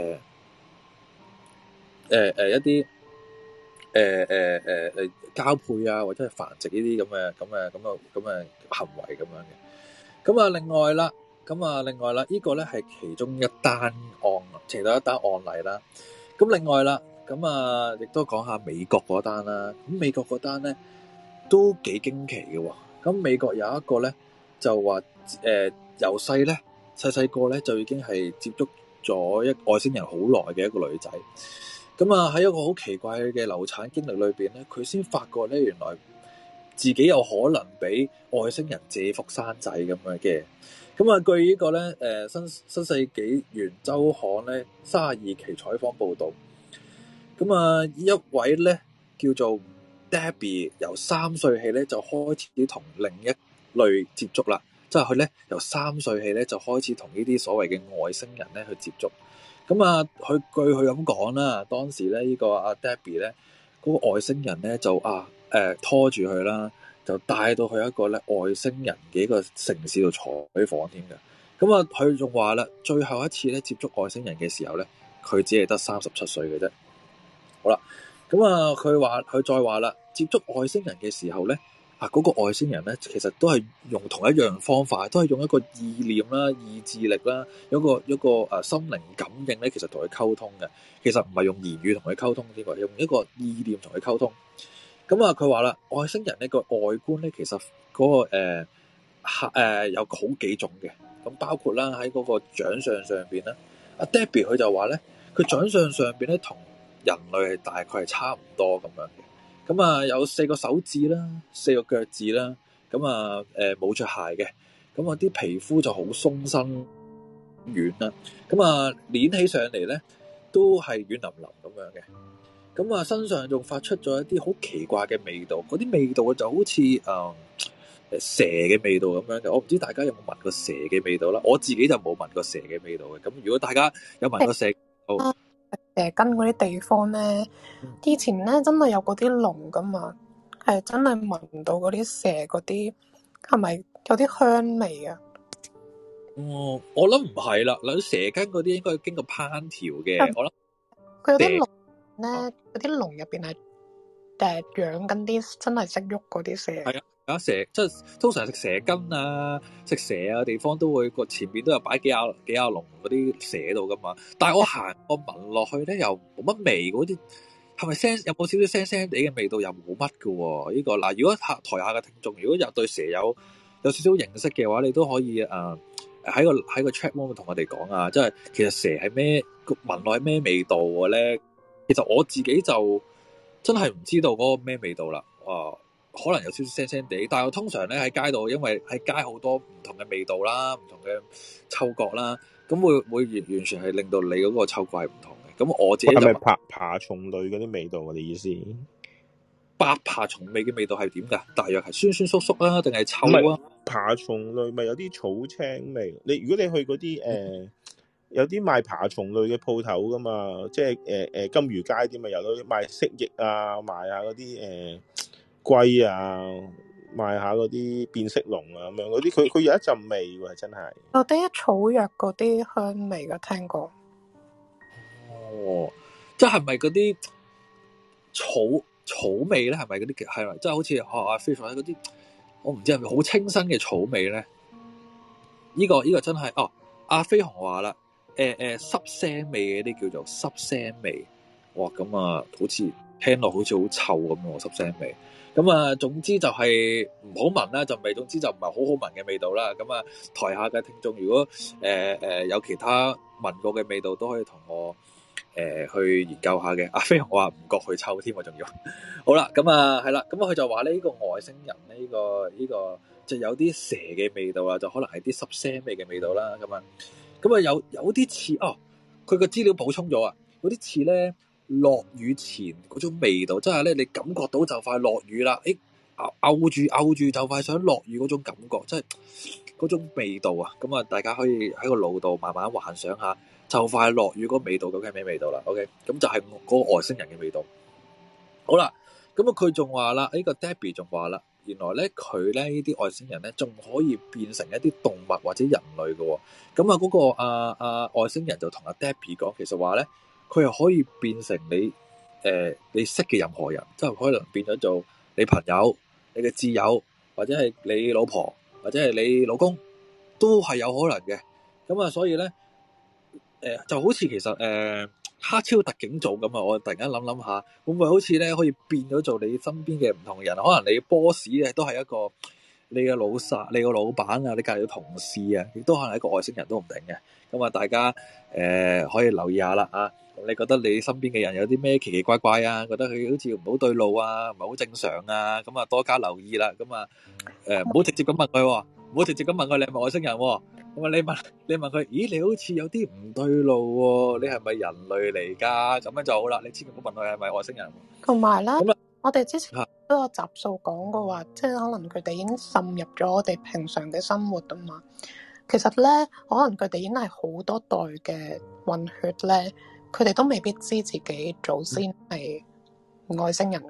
誒誒誒一啲誒誒誒誒交配啊，或者係繁殖呢啲咁嘅咁嘅咁嘅咁嘅行為咁樣嘅。咁啊，另外啦，咁啊，另外啦，呢、這個咧係其中一單案，其中一單案例啦。咁另外啦。咁啊，亦都講下美國嗰單啦。咁美國嗰單咧都幾驚奇嘅喎。咁美國有一個咧就話誒由細咧細細個咧就已經係接觸咗一外星人好耐嘅一個女仔。咁啊喺一個好奇怪嘅流產經歷裏邊咧，佢先發覺咧原來自己有可能俾外星人借腹生仔咁樣嘅。咁啊據個呢個咧誒新新世紀元週刊咧三十二期採訪報導，咁啊一位咧叫做 Debbie 由三歲起咧就開始同另一類接觸啦，即係佢咧由三歲起咧就開始同呢啲所謂嘅外星人咧去接觸。咁啊，佢據佢咁講啦，當時咧呢個阿 Debbie 咧嗰個外星人咧就啊誒、呃、拖住佢啦，就帶到去一個咧外星人嘅一個城市度採訪添嘅。咁啊，佢仲話啦，最後一次咧接觸外星人嘅時候咧，佢只係得三十七歲嘅啫。好啦，咁啊，佢話佢再話啦，接觸外星人嘅時候咧。啊！嗰、那個外星人咧，其實都係用同一樣方法，都係用一個意念啦、意志力啦，有一個一個誒心靈感應咧，其實同佢溝通嘅。其實唔係用言語同佢溝通呢個，用一個意念同佢溝通。咁啊，佢話啦，外星人呢個外觀咧，其實嗰、那個誒客、呃呃、有好幾種嘅。咁包括啦喺嗰個長相上邊咧，阿 Debbie 佢就話咧，佢長相上邊咧同人類係大概係差唔多咁樣嘅。咁啊，有四個手指啦，四個腳趾啦，咁啊，誒冇着鞋嘅，咁啊啲皮膚就好鬆身軟啦，咁啊捏起上嚟咧都係軟腍腍咁樣嘅，咁啊身上仲發出咗一啲好奇怪嘅味道，嗰啲味道就好似誒、呃、蛇嘅味道咁樣嘅，我唔知大家有冇聞過蛇嘅味道啦，我自己就冇聞過蛇嘅味道嘅，咁如果大家有聞過蛇，好。 誒，跟嗰啲地方咧，以前咧真係有嗰啲籠噶嘛，係真係聞到嗰啲蛇嗰啲，係咪有啲香味啊？ 哦，我諗唔係啦，嗱蛇羹嗰啲應該要經過烹調嘅，嗯、我諗佢有啲籠咧，嗰啲籠入邊係誒養緊啲真係識喐嗰啲蛇。係啊， 有蛇即係通常食蛇羹啊，食蛇啊地方都會個前面都有擺幾廿幾廿籠嗰啲蛇喺度噶嘛。但係我行我聞落去咧又冇乜味，嗰啲係咪腥？有冇少少腥腥地嘅味道？又冇乜噶喎。呢、這個嗱，如果台下嘅聽眾如果有對蛇有有少少認識嘅話，你都可以誒喺、呃、個喺個 chat room 同我哋講啊。即係其實蛇係咩聞落係咩味道嘅咧？其實我自己就真係唔知道嗰個咩味道啦。啊、呃！可能有少少腥腥地，但係我通常咧喺街度，因為喺街好多唔同嘅味道啦，唔同嘅嗅覺啦，咁會會完完全係令到你嗰個嗅覺係唔同嘅。咁我自己就係咪爬爬蟲類嗰啲味道啊？你意思？ 白爬蟲味嘅味道係點㗎？大約係酸酸縮縮啊，定係臭啊？ 爬蟲類咪有啲草青味。你如果你去嗰啲誒有啲賣爬蟲類嘅鋪頭㗎嘛，即係誒誒金魚街啲咪有咯，賣蜥蜴啊，賣下嗰啲誒。呃龜啊，賣下嗰啲變色龍啊，咁樣嗰啲，佢佢有一陣味喎，真係。 有啲草藥嗰啲香味嘅，聽過。 哦，即係咪嗰啲草草味咧？係咪嗰啲係咪？即係好似學阿飛凡嗰啲，我唔知係咪好清新嘅草味咧？呢、這個呢、這個真係哦，阿飛鴻話啦，誒、呃、誒濕腥味嘅啲叫做濕腥味，哇咁啊，好似聽落好似好臭咁喎，濕腥味。咁啊，總之就係唔好聞啦，陣味。總之就唔係好好聞嘅味道啦。咁啊，台下嘅聽眾如果誒誒、呃呃、有其他聞過嘅味道，都可以同我誒、呃、去研究下嘅。阿飛鴻話唔覺佢臭添，我仲要。好啦，咁啊係啦，咁佢就話呢、呢個外星人呢、呢個呢、呢個就有啲蛇嘅味道啊，就可能係啲濕腥味嘅味道啦。咁啊，咁啊有有啲似哦，佢個資料補充咗啊，有啲似咧。落雨前嗰種味道，即係咧你感覺到就快落雨啦，誒，漚住漚住就快想落雨嗰種感覺，即係嗰種味道啊！咁啊，大家可以喺個腦度慢慢幻想下，就快落雨嗰個味道究竟係咩味道啦 ？OK，咁就係嗰個外星人嘅味道。好啦，咁啊佢仲話啦，呢個 Debbie 仲話啦，原來咧佢咧呢啲外星人咧仲可以變成一啲動物或者人類嘅喎。咁啊嗰個啊啊外星人就同阿 Debbie 講，其實話咧。佢又可以變成你誒、呃、你識嘅任何人，即係可能變咗做你朋友、你嘅摯友，或者係你老婆，或者係你老公，都係有可能嘅。咁啊，所以咧誒、呃、就好似其實誒、呃、黑超特警組咁啊，我突然間諗諗下，會唔會好似咧可以變咗做你身邊嘅唔同人？可能你 boss 咧都係一個你嘅老細、你個老闆啊、你隔離嘅同事啊，亦都可能係一個外星人都唔定嘅。咁啊，大家誒、呃、可以留意下啦啊！你覺得你身邊嘅人有啲咩奇奇怪怪啊？覺得佢好似唔好對路啊，唔係好正常啊？咁啊，多加留意啦。咁啊誒，唔好直接咁問佢，唔好直接咁問佢你係咪外星人。咁啊，你問你問佢，咦，你好似有啲唔對路喎，你係咪人類嚟㗎？咁樣就好啦。你千祈唔好問佢係咪外星人。 同埋咧， 咁啊， 我哋之前都有集數講過話，即係可能佢哋已經滲入咗我哋平常嘅生活啊嘛。其實咧，可能佢哋已經係好多代嘅混血咧，佢哋都未必知自己祖先係外星人。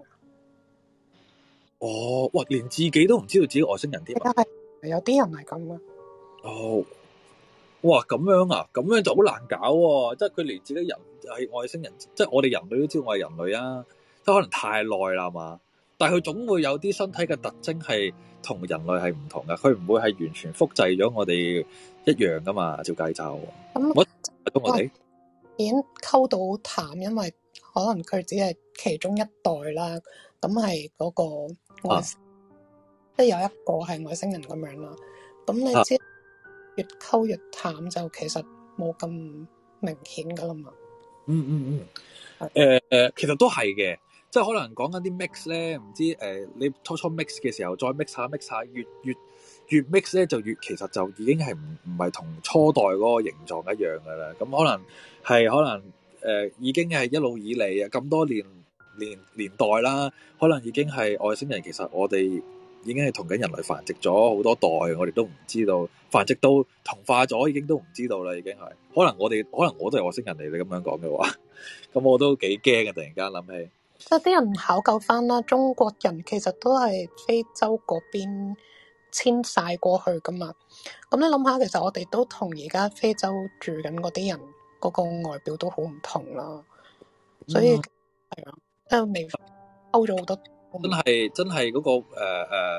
哦，哇，連自己都唔知道自己外星人添啊！ 係有啲人係咁啊。 哦，哇，咁樣啊，咁樣就好難搞喎、啊！即係佢連自己人係外星人，即係我哋人類都知道我係人類啊，即係可能太耐啦嘛。但係佢總會有啲身體嘅特徵係同人類係唔同嘅，佢唔會係完全複製咗我哋一樣噶嘛。照計就咁，我咁我哋已經溝到好淡，因為可能佢只係其中一代啦。咁係嗰個外，即係、啊、有一個係外星人咁樣啦。咁你知、啊、越溝越淡，就其實冇咁明顯噶啦嘛。嗯嗯嗯，誒、呃、誒，其實都係嘅。即係可能講緊啲 mix 咧，唔知誒、呃，你初初 mix 嘅時候再 mix 下 mix 下，越越越 mix 咧就越其實就已經係唔唔係同初代嗰個形狀一樣噶啦。咁可能係可能誒、呃、已經係一路以嚟啊咁多年年年代啦，可能已經係外星人。其實我哋已經係同緊人類繁殖咗好多代，我哋都唔知道繁殖到同化咗，已經都唔知道啦。已經係可能我哋可能我都係外星人嚟。你咁樣講嘅話，咁我都幾驚嘅。突然間諗起。 即係啲人考究翻啦，中國人其實都係非洲嗰邊遷徙過去噶嘛。咁你諗下，其實我哋都同而家非洲住緊嗰啲人嗰個外表都好唔同啦。所以係啊，即係未溝咗好多。 真係真係嗰個誒誒、uh, uh,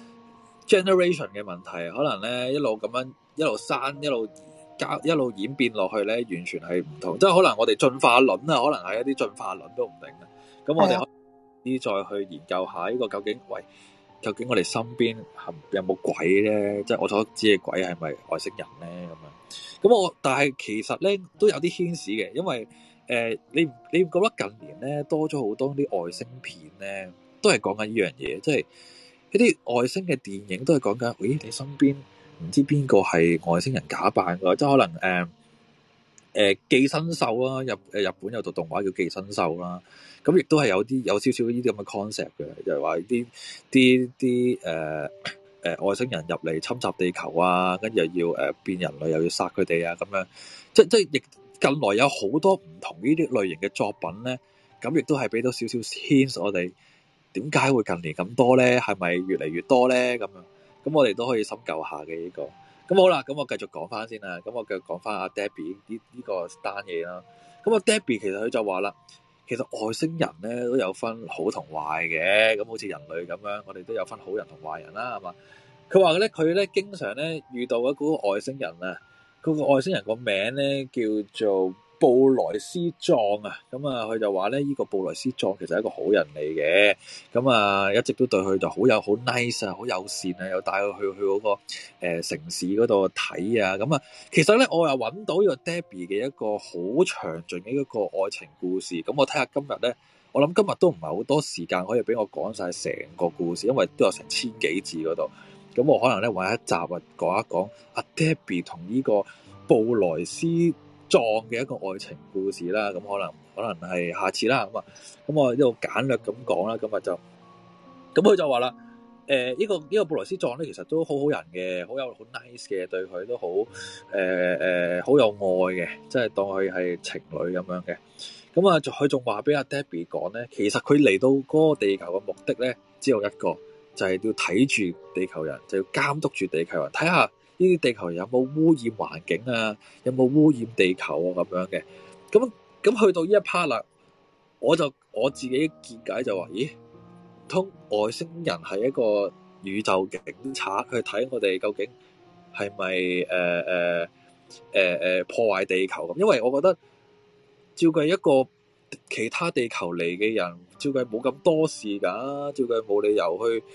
generation 嘅問題，可能咧一路咁樣一路生一路加一路演變落去咧，完全係唔同。即係可能我哋進化論啊，可能係一啲進化論都唔定嘅。咁我哋可以再去研究下呢個究竟，喂，究竟我哋身邊有冇鬼咧？即係我所知嘅鬼係咪外星人咧？咁樣，咁我但係其實咧都有啲牽絲嘅，因為誒、呃，你你覺得近年咧多咗好多啲外星片咧，都係講緊呢樣嘢，即係一啲外星嘅電影都係講緊，咦，你身邊唔知邊個係外星人假扮㗎？即係可能誒。呃誒、呃、寄生獸啦，日誒日本有套動畫叫寄生獸啦，咁亦都係有啲有少少呢啲咁嘅 concept 嘅，就係話啲啲啲誒誒外星人入嚟侵襲地球啊，跟住又要誒、呃、變人類，又要殺佢哋啊，咁樣即即亦近來有好多唔同呢啲類型嘅作品咧，咁亦都係俾到少少 hint 我哋點解會近年咁多咧？係咪越嚟越多咧？咁樣咁我哋都可以深究下嘅呢個。咁好啦，咁我繼續講翻先啦。咁我繼續講翻阿 Debbie 呢呢個單嘢啦。咁阿 Debbie 其實佢就話啦，其實外星人咧都有分好同壞嘅。咁好似人類咁樣，我哋都有分好人同壞人啦，係嘛？佢話咧，佢咧經常咧遇到嗰個外星人啊，嗰個外星人個名咧叫做布萊斯壯啊。咁啊，佢就話咧，呢個布萊斯壯其實係一個好人嚟嘅。咁啊，一直都對佢就好有好 nice 啊，好友善啊，又帶佢去去嗰個誒城市嗰度睇啊。咁啊，其實咧我又揾到呢個 Debbie 嘅一個好詳盡嘅一個愛情故事。咁我睇下今日咧，我諗今日都唔係好多時間可以俾我講晒成個故事，因為都有成千幾字嗰度。咁我可能咧揾一集啊講一講阿 Debbie 同呢個布萊斯壯嘅一個愛情故事啦。咁可能可能係下次啦。咁啊，咁我呢度簡略咁講啦。今日就咁佢就話啦，誒、呃、呢、這個呢、這個布萊斯壯咧，其實都好好人嘅，好有好 nice 嘅，對佢都好誒誒好有愛嘅，即係當佢係情侶咁樣嘅。咁啊，佢仲話俾阿 Debbie 講咧，其實佢嚟到嗰個地球嘅目的咧，只有一個，就係、是、要睇住地球人，就要監督住地球人，睇下呢啲地球人有冇污染環境啊，有冇污染地球啊咁樣嘅。咁咁去到呢一 part 啦，我就我自己見解就話，咦？通外星人係一個宇宙警察去睇我哋究竟係咪誒誒誒誒破壞地球咁？因為我覺得照計一個其他地球嚟嘅人，照計冇咁多事㗎，照計冇理由去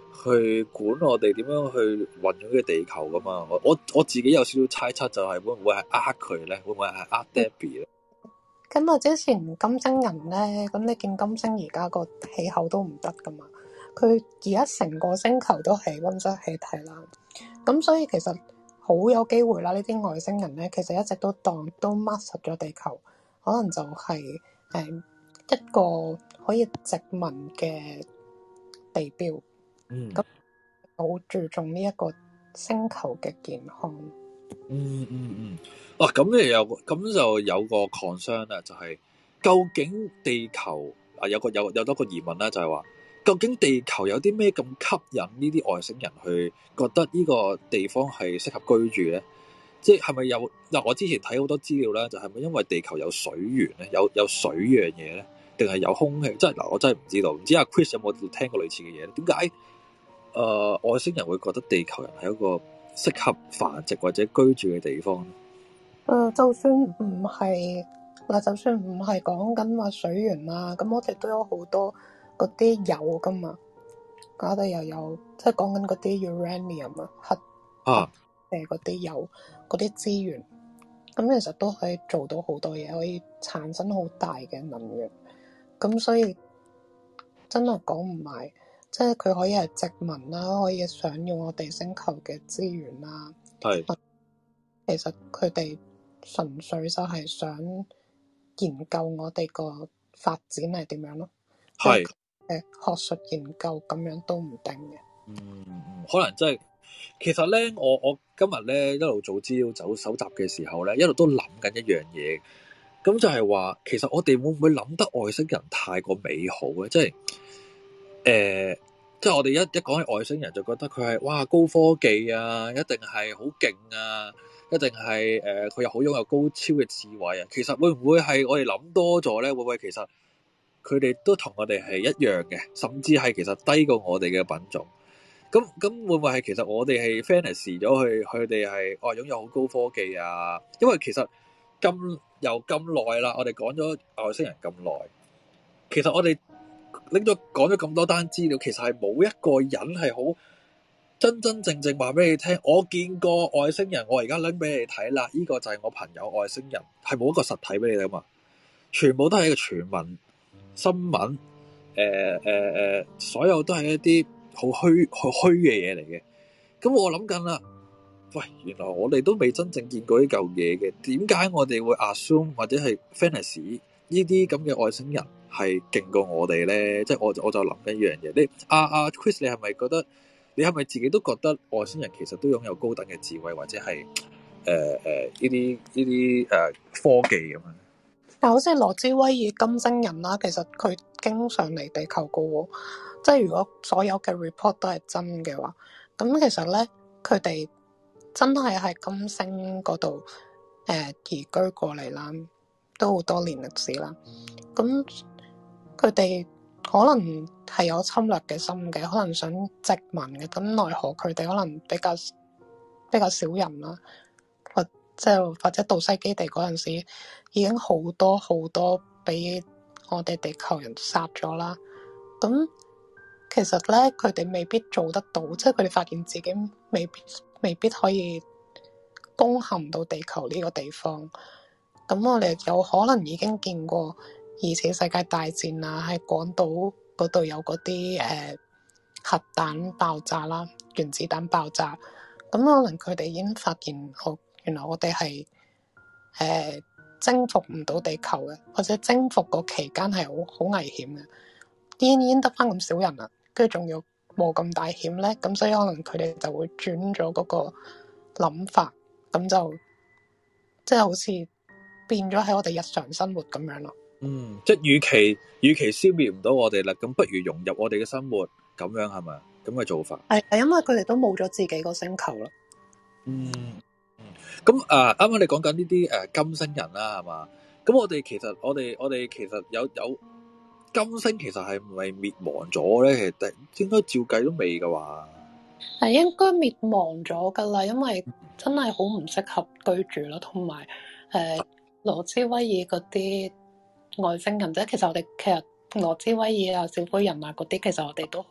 去管我哋點樣去運用呢個地球噶嘛。我我我自己有少少猜測，就係會唔會係呃佢咧？會唔會係呃 Debbie 咧？ 咁啊，之前金星人咧，咁你見金星而家個氣候都唔得噶嘛？佢而家成個星球都係溫室氣體啦，咁所以其實好有機會啦。呢啲外星人咧，其實一直都當都 mark 實咗地球，可能就係、是、誒、嗯、一個可以殖民嘅地標。 嗯， 咁好注重呢一個星球嘅健康。 嗯嗯嗯，哇！咁咧有咁就有個 concern 啦，就係、是、究竟地球啊有個有有多個疑問啦，就係、是、話究竟地球有啲咩咁吸引呢啲外星人去覺得呢個地方係適合居住咧？即係係咪有嗱？我之前睇好多資料啦，就係、是、咪因為地球有水源咧，有有水呢樣嘢咧，定係有空氣？即係嗱，我真係唔知道，唔知阿 Chris 有冇聽過類似嘅嘢咧？點解誒外星人會覺得地球人係一個適合繁殖或者居住嘅地方？ 誒、呃，就算唔係嗱，就算唔係講緊話水源啦，咁我哋都有好多嗰啲鈾噶嘛，我哋又有即係講緊嗰啲 uranium 啊，核啊誒嗰啲鈾嗰啲資源，咁其實都可以做到好多嘢，可以產生好大嘅能源。咁所以真係講唔埋，即係佢可以係殖民啦，可以想用我哋星球嘅資源啦。 係， 其實佢哋純粹就係想研究我哋個發展係點樣咯。係誒，學術研究咁樣都唔定嘅。 嗯嗯，可能真係。其實咧，我我今日咧一路做資料走搜集嘅時候咧，一路都諗緊一樣嘢。咁就係話，其實我哋會唔會諗得外星人太過美好咧？即係誒、呃，即係我哋一一講起外星人，就覺得佢係哇高科技啊，一定係好勁啊，一定係誒佢又好擁有高超嘅智慧啊。其實會唔會係我哋諗多咗咧？會唔會其實佢哋都同我哋係一樣嘅，甚至係其實低過我哋嘅品種？咁咁會唔會係其實我哋係 fantasy 咗佢，佢哋係哦擁有好高科技啊？因為其實咁又咁耐啦，我哋講咗外星人咁耐，其實我哋拎咗講咗咁多單資料，其實係冇一個人係好真真正正話俾你聽，我見過外星人，我而家拎俾你睇啦，呢個就係我朋友外星人，係冇一個實體俾你睇嘛，全部都係一個傳聞新聞，誒誒誒，所有都係一啲好虛好虛嘅嘢嚟嘅。咁我諗緊啦，喂，原來我哋都未真正見過呢嚿嘢嘅，點解我哋會 assume 或者係 fantasy 呢啲咁嘅外星人係勁過我哋咧？即係我我就諗緊一樣嘢。你阿阿、啊、Chris，你係咪覺得你係咪自己都覺得外星人其實都擁有高等嘅智慧，或者係誒誒呢啲呢啲誒科技咁樣？ 但好似羅茲威爾金星人啦，其實佢經常嚟地球噶喎，即係如果所有嘅 report 都係真嘅話，咁其實咧佢哋真係喺金星嗰度誒移居過嚟啦，都好多年歷史啦。咁佢哋可能係有侵略嘅心嘅，可能想殖民嘅，咁奈何佢哋可能比較比較少人啦，或即係或者杜西基地嗰陣時已經好多好多俾我哋地球人殺咗啦。咁其實咧，佢哋未必做得到，即係佢哋發現自己未必未必可以攻陷到地球呢個地方。咁我哋有可能已經見過二次世界大戰啊，喺廣島嗰度有嗰啲誒核彈爆炸啦，原子彈爆炸。咁可能佢哋已經發現，我原來我哋係誒征服唔到地球嘅，或者征服個期間係好好危險嘅。已經已經得翻咁少人啦，跟住仲要冇咁大險咧，咁所以可能佢哋就會轉咗嗰個諗法，咁就即係好似變咗喺我哋日常生活咁樣咯。嗯， 即係與其與其消滅唔到我哋啦，咁不如融入我哋嘅生活，咁樣係咪？咁嘅做法係係因為佢哋都冇咗自己個星球啦。 嗯，咁啊，啱啱你講緊呢啲誒金星人啦，係嘛？咁我哋其實我哋我哋其實有有金星其實係唔係滅亡咗咧？其實應該照計都未噶話。 係應該滅亡咗噶啦，因為真係好唔適合居住咯，同埋誒羅茲威爾嗰啲外星人，即係其實我哋其實羅茲威爾啊、小灰人啊嗰啲，其實我哋都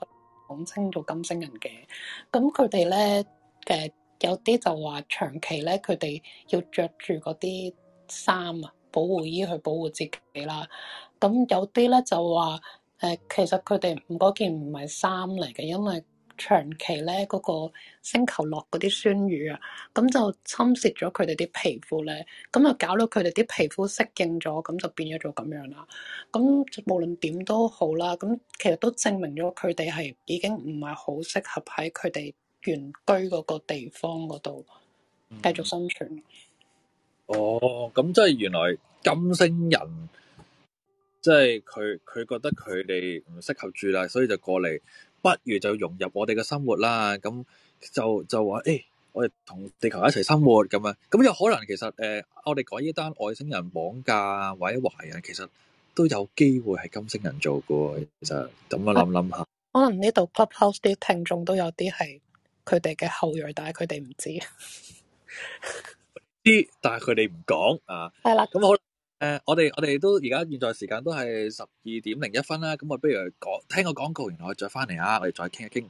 講稱做金星人嘅。咁佢哋咧嘅有啲就話長期咧，佢哋要着住嗰啲衫啊，保護衣去保護自己啦。咁有啲咧就話誒、呃，其實佢哋唔嗰件唔係衫嚟嘅，因為長期咧嗰、嗰個星球落嗰啲酸雨啊，咁就侵蝕咗佢哋啲皮膚咧，咁就搞到佢哋啲皮膚適應咗，咁就變咗做咁樣啦。咁無論點都好啦，咁其實都證明咗佢哋係已經唔係好適合喺佢哋原居嗰個地方嗰度繼續生存。 嗯、哦，咁即係原來金星人，即係佢佢覺得佢哋唔適合住啦，所以就過嚟。不如就融入我哋嘅生活啦，咁就就話誒、欸，我哋同地球一齊生活咁啊，咁有可能其實誒、呃，我哋講呢單外星人綁架或者懷孕，其實都有機會係金星人做嘅。其實咁樣諗諗下， 可能呢度 Clubhouse 啲聽眾都有啲係佢哋嘅後裔，但係佢哋唔知啲，但係佢哋唔講啊。 係啦， 咁好。誒、呃，我哋我哋都而家現在時間都係十二點零一分啦，咁我不如講聽個廣告，然後我再翻嚟啊，我哋再傾一傾。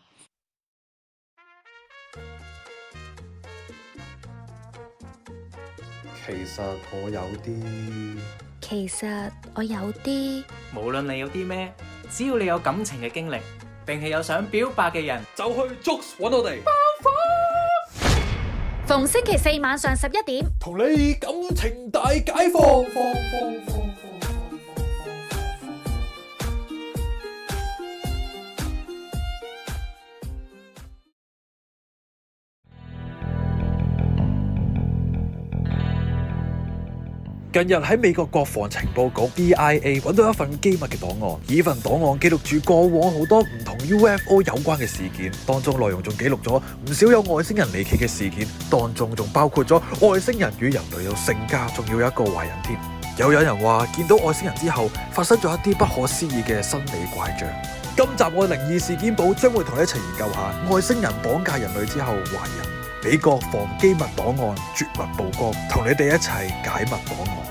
其實我有啲， 其實我有啲， 無論你有啲咩，只要你有感情嘅經歷，定係有想表白嘅人， 就去 Jokes 揾我哋。 逢星期四晚上十一點， 同你感情大解放。放放放放近日喺美國國防情報局 D I A 揾到一份機密嘅檔案，呢份檔案記錄住過往好多唔同 U F O 有關嘅事件，當中內容仲記錄咗唔少有外星人離奇嘅事件，當中仲包括咗外星人與人類有性交，仲要有一個懷孕添。又有人話見到外星人之後發生咗一啲不可思議嘅生理怪象。今集我靈異事件簿將會同你一齊研究下外星人綁架人類之後懷孕。美國防機密檔案絕密曝光，同你哋一齊解密檔案。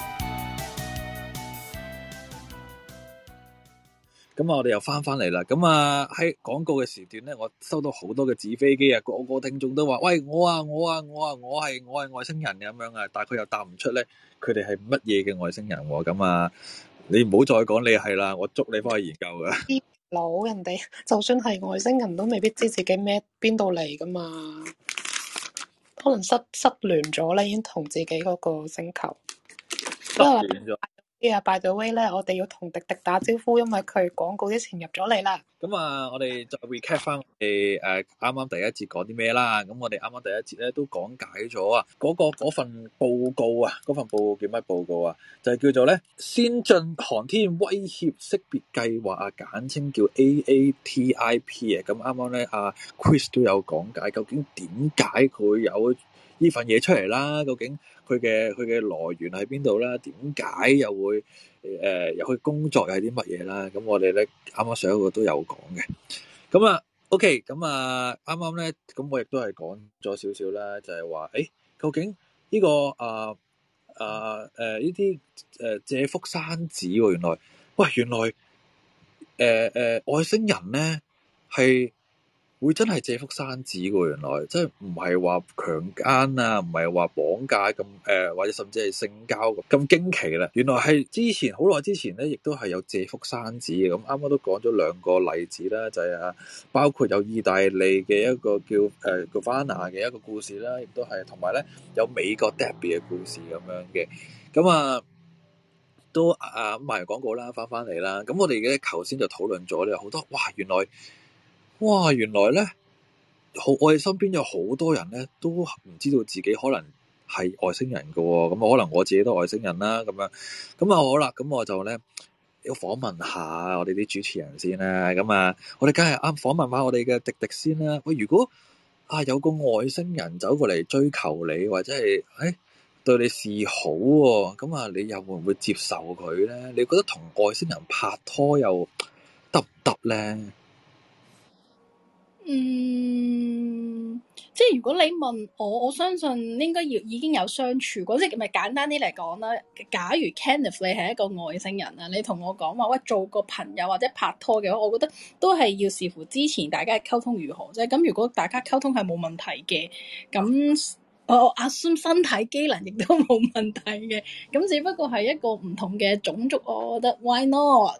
咁啊，我哋又翻翻嚟啦。咁啊，喺廣告嘅時段咧，我收到好多嘅紙飛機啊，個個聽眾都話：喂，我啊，我啊，我啊，我係我係外星人咁樣啊。但係佢又答唔出咧，佢哋係乜嘢嘅外星人？咁啊，你唔好再講你係啦，我捉你翻去研究噶。 老人哋就算係外星人都未必知自己咩邊度嚟噶嘛。可能失失聯咗咧，已經同自己嗰個星球失聯咗。啊，by the way 咧，我哋要同迪迪打招呼，因為佢廣告之前入咗嚟啦。 咁啊，我哋再 recap 翻我哋誒啱啱第一節講啲咩啦？咁我哋啱啱第一節咧都講解咗啊，嗰個嗰份報告啊，嗰份報告叫乜報告啊？就係叫做咧先進航天威脅識別計劃啊，簡稱叫 A A T I P 啊。咁啱啱咧阿 Chris 都有講解，究竟點解佢有呢份嘢出嚟啦？究竟佢嘅佢嘅來源喺邊度啦？點解又會誒有佢工作又係啲乜嘢啦？咁我哋咧啱啱上一個都有講嘅。咁啊 OK，咁啊啱啱咧，咁我亦都係講咗少少啦，就係話誒，究竟呢、呢個啊啊誒呢啲誒借腹生子喎？原來喂，原來誒誒、呃呃、外星人咧係會真係借腹生子嘅，原來即係唔係話強姦啊，唔係話綁架咁誒、呃，或者甚至係性交咁驚奇啦。原來係之前好耐之前咧，亦都係有借腹生子嘅。咁啱啱都講咗兩個例子啦，就係、是、啊，包括有意大利嘅一個叫誒 Giovanna 嘅一個故事啦，亦都係同埋咧有美國 Debbie 嘅故事咁樣嘅。咁啊都啊賣完廣告啦，翻翻嚟啦。咁我哋嘅頭先就討論咗咧好多，哇！原來哇，原來咧，好我哋身邊有好多人咧，都唔知道自己可能係外星人噶、哦，咁可能我自己都外星人啦，咁樣，咁啊好啦，咁我就咧要訪問下我哋啲主持人先啦，咁啊，我哋梗係啱訪問下我哋嘅迪迪先啦。喂，如果啊有個外星人走過嚟追求你，或者係誒、哎、對你示好、哦，咁啊，你又會唔會接受佢咧？你覺得同外星人拍拖又得唔得咧？ 嗯，即係如果你問我，我相信應該要已經有相處過，即係咪簡單啲嚟講啦？假如 Kenneth 你係一個外星人啊，你同我講話喂做個朋友或者拍拖嘅話，我覺得都係要視乎之前大家嘅溝通如何啫。咁如果大家溝通係冇問題嘅，咁我 assume 身體機能亦都冇問題嘅，咁只不過係一個唔同嘅種族，我覺得 why not？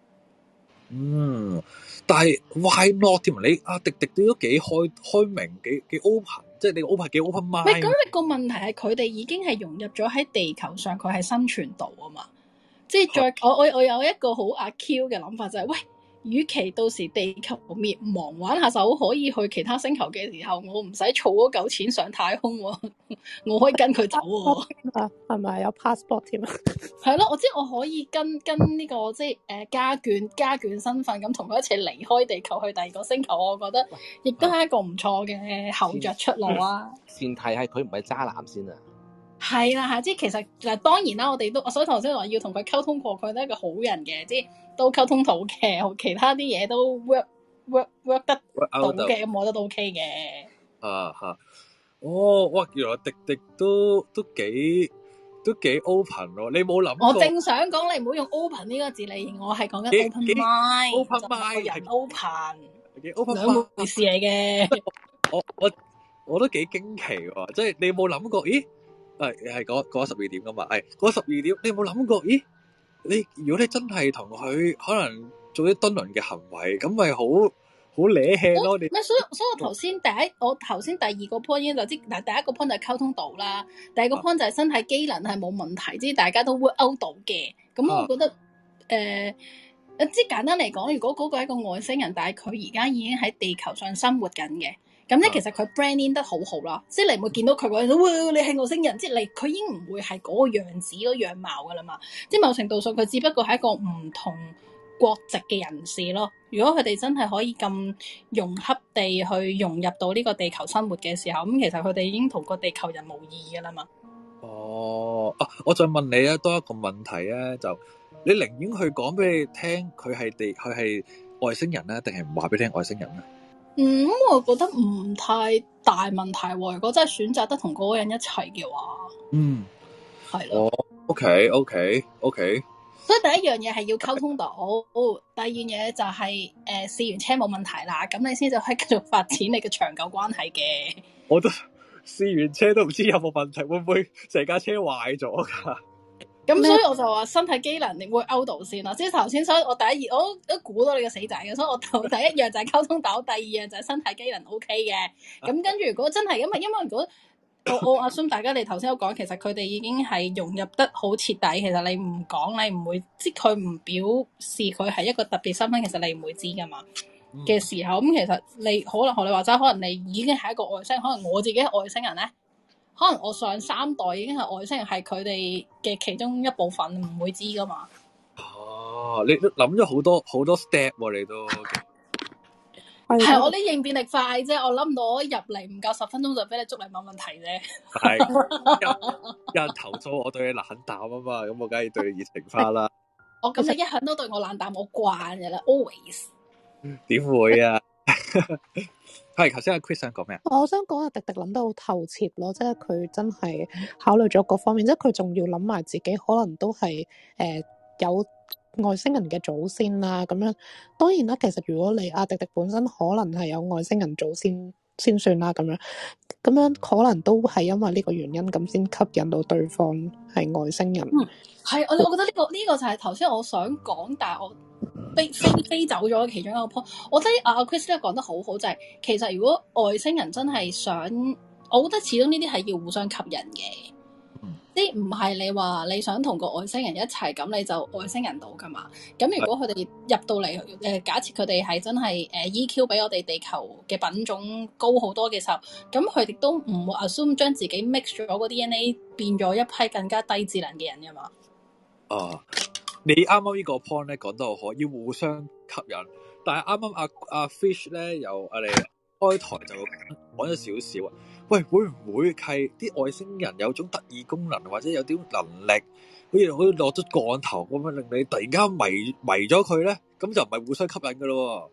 嗯。但係 why not 添？你阿迪迪都幾開開明，幾幾 open，即係你 open 幾 open mind。喂，咁你個問題係佢哋已經係融入咗喺地球上，佢係生存到啊嘛。即係再我我我有一個好阿 Q 嘅諗法就係、是，喂，與其到時地球滅亡玩下手可以去其他星球嘅時候，我唔使儲嗰嚿錢上太空喎，我可以跟佢走喎。 啊，係咪有 passport 添啊？ 係咯，我知我可以跟跟呢、這個即係誒家眷家眷身份咁同佢一齊離開地球去第二個星球，我覺得亦都係一個唔錯嘅後着出路啊。 前提係佢唔係渣男先啊。 係啦，係即係其實嗱，當然啦，我哋都所以頭先話要同佢溝通過，佢都係一個好人嘅，即係都溝通到嘅，其他啲嘢都 work work work 得到嘅，咁我覺得都 OK 嘅。 啊吓，哦，哇，原來迪迪都都幾都幾 open 咯，你冇諗過？ 我正想講，你唔好用 open 呢個字嚟形容，我係講緊 open mind，open mind 人 open， 幾 open 兩回事嚟嘅。 我我我都幾驚奇喎，即係你冇諗過？咦？係係嗰嗰十二點噶嘛？係嗰十二點，你有冇諗過？咦，你如果你真係同佢可能做啲敦倫嘅行為，咁咪好好瀨氣咯？你咩？所以所以我頭先第一，我頭先第二個 point 已經就知，嗱第一個 point 就係溝通到啦，第二個 point 就係身體機能係冇問題，即係大家都 work out 到嘅。咁我覺得誒，即、呃、係簡單嚟講，如果嗰個係一個外星人，但係佢而家已經喺地球上生活緊嘅。咁咧，其實佢 branding 得好好啦，即係你唔會見到佢嗰陣，哇！你係外星人，即係你佢已經唔會係嗰個樣子、嗰個樣貌噶啦嘛。即係某程度上，佢只不過係一個唔同國籍嘅人士咯。如果佢哋真係可以咁融洽地去融入到呢個地球生活嘅時候，咁其實佢哋已經同個地球人無異噶啦嘛。 哦，啊，我再問你咧多一個問題咧，就你寧願去講俾你聽，佢係地佢係外星人咧，定係唔話俾你聽外星人咧？ 嗯，我覺得唔太大問題喎。如果真係選擇得同嗰個人一齊嘅話， 嗯， 係咯。 哦 OK，OK，OK。Okay, okay, okay. 所以第一樣嘢係要溝通到，第二樣嘢就係誒試完車冇問題啦，咁你先就可以繼續發展你嘅長久關係嘅。 我都試完車都唔知有冇問題，會唔會成架車壞咗㗎？ 咁所以我就話身體機能你會勾到先啦，即係頭先，所以我第一二我都都估到你個死仔嘅，所以我頭第一樣就係溝通到，第二樣就係身體機能 OK 嘅。咁跟住如果真係，因為因為如果我我 assume 大家你頭先都講，其實佢哋已經係融入得好徹底，其實你唔講你唔會，即係佢唔表示佢係一個特別身份，其實你唔會知噶嘛嘅、嗯、時候，咁其實你可能學你話齋，可能你已經係一個外星人，可能我自己係外星人咧。可能我上三代已經係外星人，係佢哋嘅其中一部分，唔會知噶嘛。 哦、啊，你都諗咗好多好多 step 喎、啊，你都係我啲應變力快啫，我諗唔到我入嚟唔夠十分鐘就俾你捉嚟問問題啫。 係有，有人投訴我對你冷淡啊嘛，咁我梗係對你熱情翻啦。 我咁你一向都對我冷淡，我慣嘅啦 ，always。 點會啊？係，頭先阿 Chris 想講咩啊？ 我想講阿迪迪諗得好透徹咯，即係佢真係考慮咗各方面，即係佢仲要諗埋自己可能都係誒、呃、有外星人嘅祖先啦，咁樣當然啦。其實如果你阿迪迪本身可能係有外星人祖先先算啦，咁樣咁樣可能都係因為呢個原因咁先吸引到對方係外星人。 嗯，係我我覺得呢、這個呢、這個就係頭先我想講，但係我。飛飛飛走咗其中一個 point，我覺得阿 Chris 咧講得好好，就係、是、其實如果外星人真係想，我覺得始終呢啲係要互相吸引嘅，即係唔係你話你想同個外星人一齊咁你就外星人到噶嘛？咁如果佢哋入到嚟，誒、呃、假設佢哋係真係誒、呃、E Q 比我哋地球嘅品種高好多嘅時候，咁佢哋都唔會 assume 將自己 mix 咗個 D N A 變咗一批更加低智能嘅人噶嘛？哦。 你啱啱呢個 point 咧講得好好，要互相吸引。但係啱啱阿阿 Fish 咧，由我哋開台就講咗少少啊。喂，會唔會係啲外星人有種特異功能，或者有啲能力，好似好似落咗降頭咁樣，令你突然間迷迷咗佢咧？咁就唔係互相吸引噶咯。 但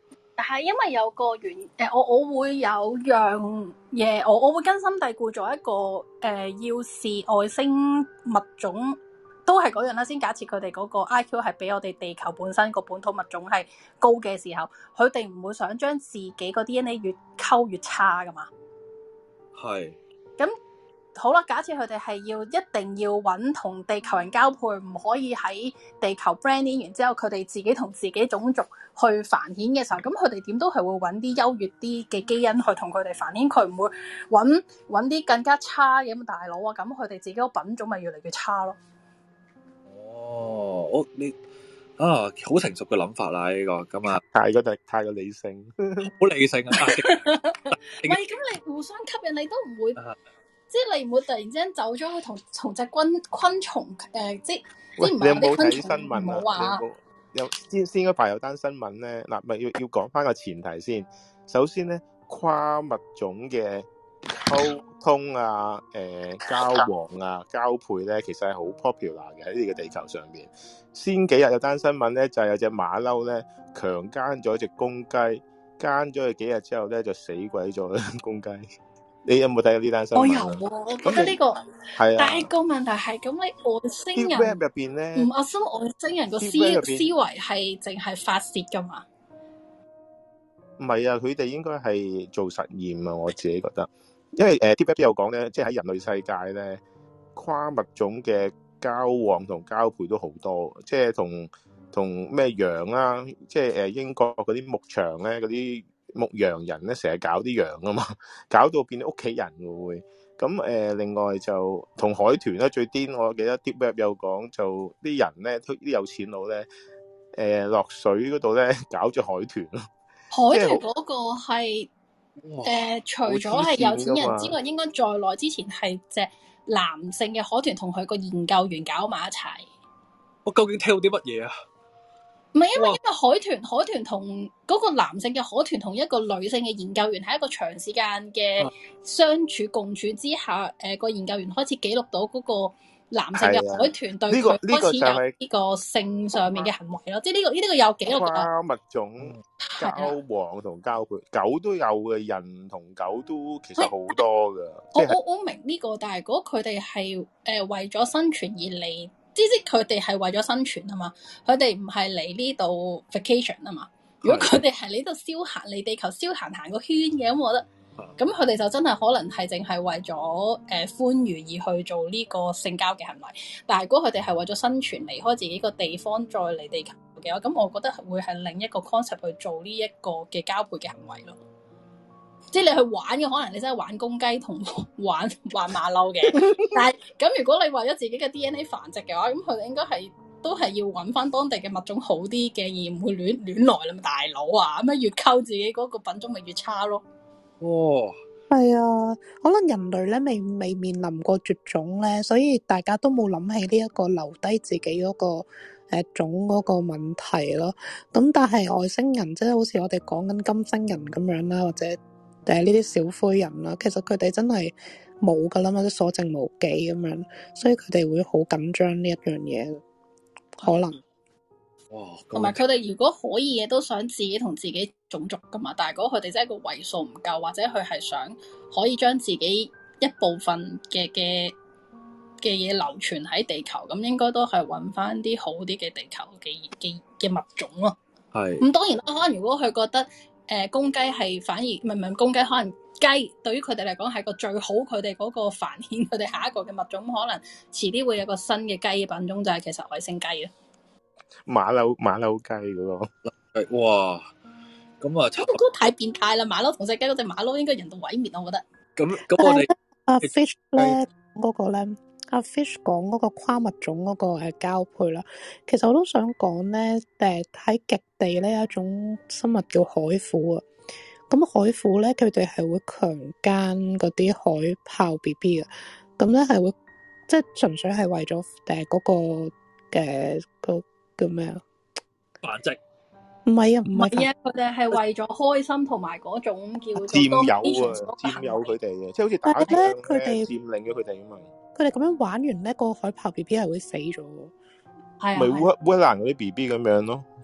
係因為有個原誒、呃，我我會有樣嘢，我我會根深蒂固做一個誒、呃，要視外星物種都係嗰樣啦。先假設佢哋嗰個 I Q 係比我哋地球本身個本土物種係高嘅時候，佢哋唔會想將自己個 D N A 越溝越差噶嘛。係。咁好啦，假設佢哋係要一定要揾同地球人交配，唔可以喺地球 brand in 完之後，佢哋自己同自己種族去繁衍嘅時候，咁佢哋點都係會揾啲優越啲嘅基因去同佢哋繁衍，佢唔會揾揾啲更加差嘅咁大佬啊，咁佢哋自己個品種咪越嚟越差咯。 哦，我你啊，好成熟嘅諗法啦呢、這個，咁啊， 太過太太過理性， 好理性啊！ 唔係，咁你互相吸引，你都唔會。即係你唔會突然之間走咗去同同隻昆昆蟲誒、呃，即係即係唔係我哋昆蟲唔好話。 有先先嗰排有單新聞咧，嗱咪要要講翻個前提先。首先咧，跨物種嘅溝通啊、誒、呃、交往啊、交配咧，其實係好 popular 嘅喺呢個地球上邊。先幾日有單新聞咧，就係、是、有隻馬騮咧強姦咗隻公雞，姦咗佢幾日之後咧就死鬼咗公雞。你有冇睇過呢單新聞？ 我有喎、啊，我覺得呢、這個係啊。但係個問題係咁，你外星人入邊咧，唔我心外星人個思思維係淨係發泄噶嘛？ 唔係啊，佢哋應該係做實驗啊！我自己覺得，因為誒 Deep Web 有講咧，即係喺人類世界咧，跨物種嘅交往同交配都好多，即係同同咩羊啦、啊，即係誒英國嗰啲牧場咧嗰啲。牧羊人咧成日搞啲羊啊嘛，搞到變咗屋企人會。咁誒、呃，另外就同海豚咧最癲，我記得 Deep Web 有講，就啲人咧，啲有錢佬咧，誒、呃、落水嗰度咧搞咗海豚咯。 海豚嗰個係誒、呃，除咗係有錢人之外，應該在內之前係隻男性嘅海豚同佢個研究員搞埋一齊。 我究竟聽到啲乜嘢啊？ 唔係，因為因為海豚海豚同嗰個男性嘅海豚同一個女性嘅研究員喺一個長時間嘅相處共處之下，誒、呃、個研究員開始記錄到嗰個男性嘅海豚對佢開始有呢個性上面嘅行為咯，即係呢個呢啲、這個有記錄嘅。 跨物種交往同交配，狗都有嘅，人同狗都其實好多㗎。 我我我明呢、這個，但係如果佢哋係誒為咗生存而嚟。即係佢哋係為咗生存啊嘛，佢哋唔係嚟呢度 vacation 啊嘛。如果佢哋係嚟呢度消閒，嚟地球消閒行個圈嘅，咁我覺得，咁佢哋就真係可能係淨係為咗誒歡愉而去做呢個性交嘅行為。但係如果佢哋係為咗生存，離開自己個地方再嚟地球嘅話，咁我覺得會係另一個 concept 去做呢一個嘅交配嘅行為咯。即係你去玩嘅，可能你真係玩公雞同玩玩馬騮嘅。但係咁如果你為咗自己嘅 D N A 繁殖嘅話，咁佢哋應該係都係要揾翻當地嘅物種好啲嘅，而唔會亂亂來啦嘛，大佬啊！咁樣越溝自己嗰個品種咪越差咯。 哇，係啊，可能人類咧未未面臨過絕種咧，所以大家都冇諗起呢一個留低自己嗰、嗰個誒、呃、種嗰個問題咯。咁但係外星人即係好似我哋講緊金星人咁樣啦，或者誒呢啲小灰人啦，其實佢哋真係冇噶啦嘛，即所剩無幾咁樣，所以佢哋會好緊張呢一樣嘢，可能。 哇！同埋佢哋如果可以嘅，都想自己同自己種族噶嘛。但係如果佢哋真係個位數唔夠，或者佢係想可以將自己一部分嘅嘅嘅嘢流傳喺地球，咁應該都係揾翻啲好啲嘅地球嘅嘅嘅物種咯。係。咁當然啦，可能如果佢覺得。誒、呃、公雞係反而唔係唔係公雞，可能雞對於佢哋嚟講係個最好，佢哋嗰個繁衍佢哋下一個嘅物種，可能遲啲會有個新嘅雞品種，就係、是、其實外星雞啊。 馬騮馬騮雞嗰、那個， 哇！咁啊， 都都太變態啦！馬騮同隻雞嗰隻馬騮應該人道毀滅，我覺得。 咁咁我哋阿 Fish 咧嗰個咧，阿 Fish 講嗰個跨物種嗰個誒交配啦，其實我都想講咧，誒喺極地咧有一種生物叫海虎啊。咁海虎咧，佢哋係會強姦嗰啲海豹 B B 嘅，咁咧係會即係純粹係為咗誒嗰個嘅個叫咩啊？ 繁殖。 唔係啊，唔係啊，佢哋係為咗開心同埋嗰種叫做佔有啊，佔有佢哋嘅，即係好似打仗咧，佢哋佔領咗佢哋啊嘛。 佢哋咁樣玩完咧，個海豹 B B 係會死咗。 係啊， 咪烏烏蘭嗰啲 B B 咁樣咯，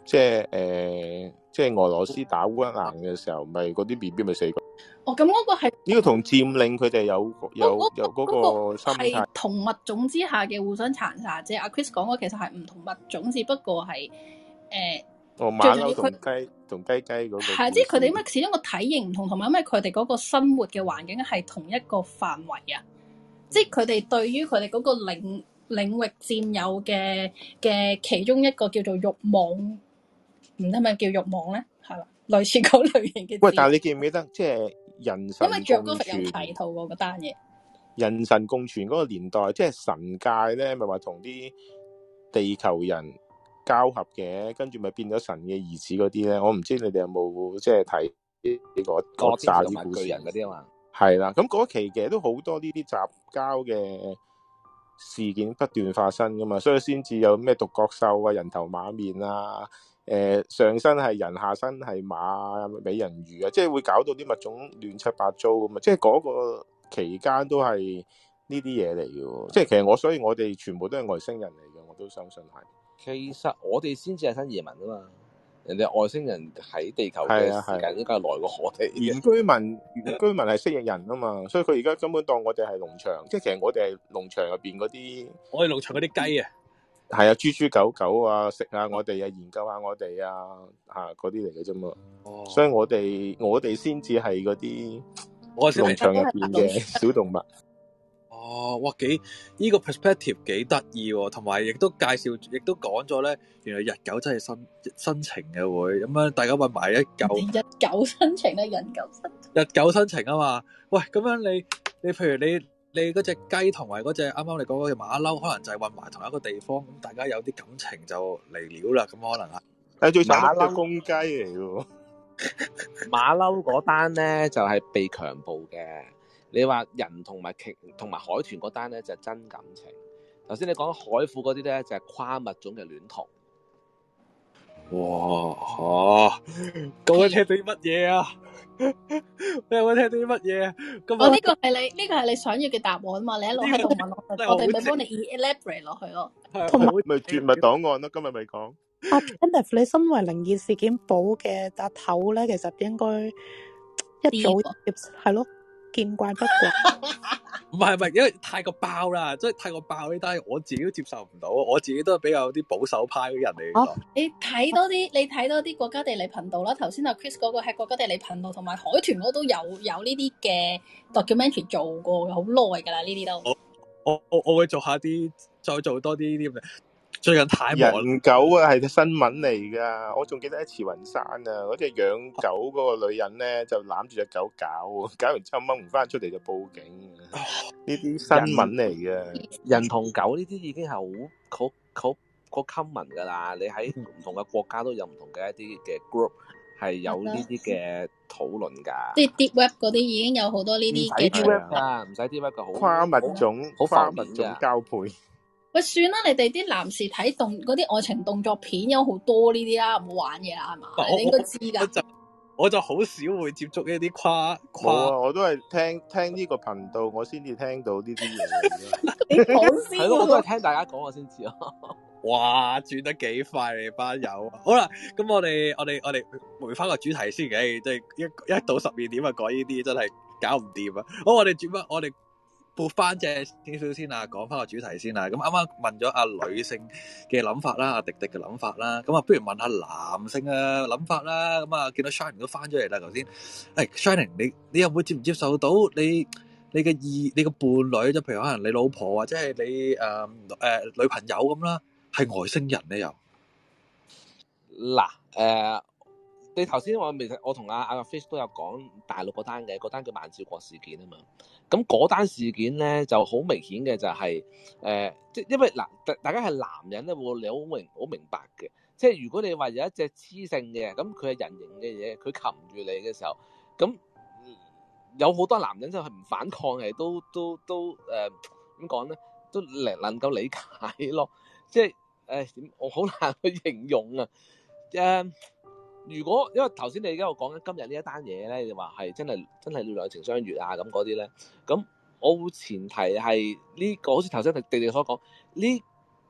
即係誒、呃，即係俄羅斯打烏克蘭嘅時候，咪嗰啲 B B 咪死過。 哦，咁嗰個係呢個同佔領佢哋有有有嗰個心態。 係同物種之下嘅互相殘殺啫。阿 Chris 講嗰其實係唔同物種，只不過係誒。呃哦，馬騮同雞同雞雞嗰個係， 即係佢哋因為始終個體型唔同，同埋因為佢哋嗰個生活嘅環境係同一個範圍啊。即係佢哋對於佢哋嗰個領領域佔有嘅嘅其中一個叫做慾望，唔知係咪叫慾望咧？係啦，類似嗰類型嘅。喂， 但係你記唔記得即係人神共存？因為著嗰份有提到過嗰單嘢。人神共存嗰個年代，即係神界咧，咪話同啲地球人交合嘅，跟住咪變咗神嘅兒子嗰啲咧。我唔知你哋有冇即係睇呢個嗰紮啲故事人嗰啲啊嘛。係啦，咁嗰期嘅都好多呢啲雜交嘅事件不斷發生噶嘛，所以先至有咩獨角獸啊、人頭馬面啊、誒、呃、上身係人，下身係馬、美人魚啊，即係會搞到啲物種亂七八糟咁嘛。即係嗰個期間都係呢啲嘢嚟嘅，即係其實我所以我哋全部都係外星人嚟嘅，我都相信係。其實我哋先至係新移民啊嘛，人哋外星人喺地球嘅時間應該係耐過我哋。原居民原居民係蜥蜴人啊嘛，所以佢而家根本當我哋係農場，即係其實我哋係農場入邊嗰啲，我哋農場嗰啲雞啊，係啊，豬豬狗狗啊，食下我哋啊，研究下我哋啊，嚇嗰啲嚟嘅啫嘛。哦，所以我哋我哋先至係嗰啲農場入邊嘅小動物。哦，哇，幾呢、這個 perspective 幾得意喎，同埋亦都介紹，亦都講咗咧，原來日久真係生生情嘅會，咁樣大家搵埋一嚿。日久生情咧，日久生日久生情啊嘛，喂，咁樣你你譬如你你嗰隻雞同埋嗰隻啱啱你講嗰隻馬騮，可能就係混埋同一個地方，咁大家有啲感情就嚟了啦，咁可能啊。誒，最慘係公雞嚟嘅，馬騮嗰單咧就係、是、被強暴嘅。你話人同埋鯨同埋海豚嗰單咧就係真感情，頭先你講海虎嗰啲咧就係跨物種嘅戀童。哇嚇！各位聽到啲乜嘢啊？你有冇聽到啲乜嘢啊？咁我呢個係你呢個係你想要嘅答案嘛？你一路喺度問我，我哋咪幫你 elaborate 落去咯。 同埋咪絕密檔案咯，今日咪講。 阿 Kenneth，你身為靈異事件簿嘅阿頭咧，其實應該一早係咯。見怪不怪，唔係唔係，因為太過爆啦，即係太過爆呢單，我自己都接受唔到，我自己都係比較啲保守派嘅人嚟。哦，你睇多啲，你睇多啲國家地理頻道啦。頭先阿 Chris 嗰個係國家地理頻道，同埋海豚嗰都有有呢啲嘅 documentary 做過嘅，好耐噶啦呢啲都。我我我我會做下啲，再做多啲呢啲嘅。最近太忙。人狗啊，係新聞嚟噶，我仲記得喺慈雲山啊，嗰隻養狗嗰個女人咧就攬住隻狗搞，搞完之後掹唔翻出嚟就報警。呢啲新聞嚟嘅。人同狗呢啲已經係好好好好 common 噶啦，你喺唔同嘅國家都有唔同嘅一啲嘅 group 係有呢啲嘅討論噶。即係 deep web 嗰啲已經有好多呢啲嘅。唔使 deep web 噶，唔使 deep web 噶，好跨物種，好跨物種交配。喂，算啦，你哋啲男士睇動嗰啲愛情動作片有好多呢啲啦，唔好玩嘢啦，係嘛？你應該知噶。我就我就好少會接觸呢啲跨跨。冇啊，我都係聽聽呢個頻道，我先至聽到呢啲嘢。你講先。係咯，我都係聽大家講我先知咯。哇，轉得幾快你班友。好啦，咁我哋我哋我哋回翻個主題先嘅，即係一一到十二點啊，講呢啲真係搞唔掂啊。好，我哋轉翻我哋。撥翻隻少少先啦，講翻個主題先啦。咁啱啱問咗阿女性嘅諗法啦，阿迪迪嘅諗法啦，咁啊不如問下男性嘅諗法啦。咁啊見到 Shining 都翻咗嚟啦，頭先。誒 Shining，你你又會接唔接受到你你嘅意你嘅伴侶，即譬如可能你老婆或者係你誒誒、呃呃、女朋友咁啦，係外星人咧又？嗱誒。呃你頭先我未，我同阿阿 Fish 都有講大陸嗰單嘅，嗰單叫萬兆國事件啊嘛。咁嗰單事件咧就好明顯嘅就係、是、誒，即、呃、係因為嗱，大家係男人咧，會你好明好明白嘅。即係如果你話有一隻雌性嘅，咁佢係人形嘅嘢，佢擒住你嘅時候，咁有好多男人就係唔反抗嘅，都都都誒點講咧，都能能夠理解咯。即係誒點，我好難去形容啊誒。呃如果因為頭先你而家我講緊今日呢一單嘢咧，你話係真係真係兩情相悅啊咁嗰啲咧，咁我會前提係呢、這個好似頭先迪迪所講，呢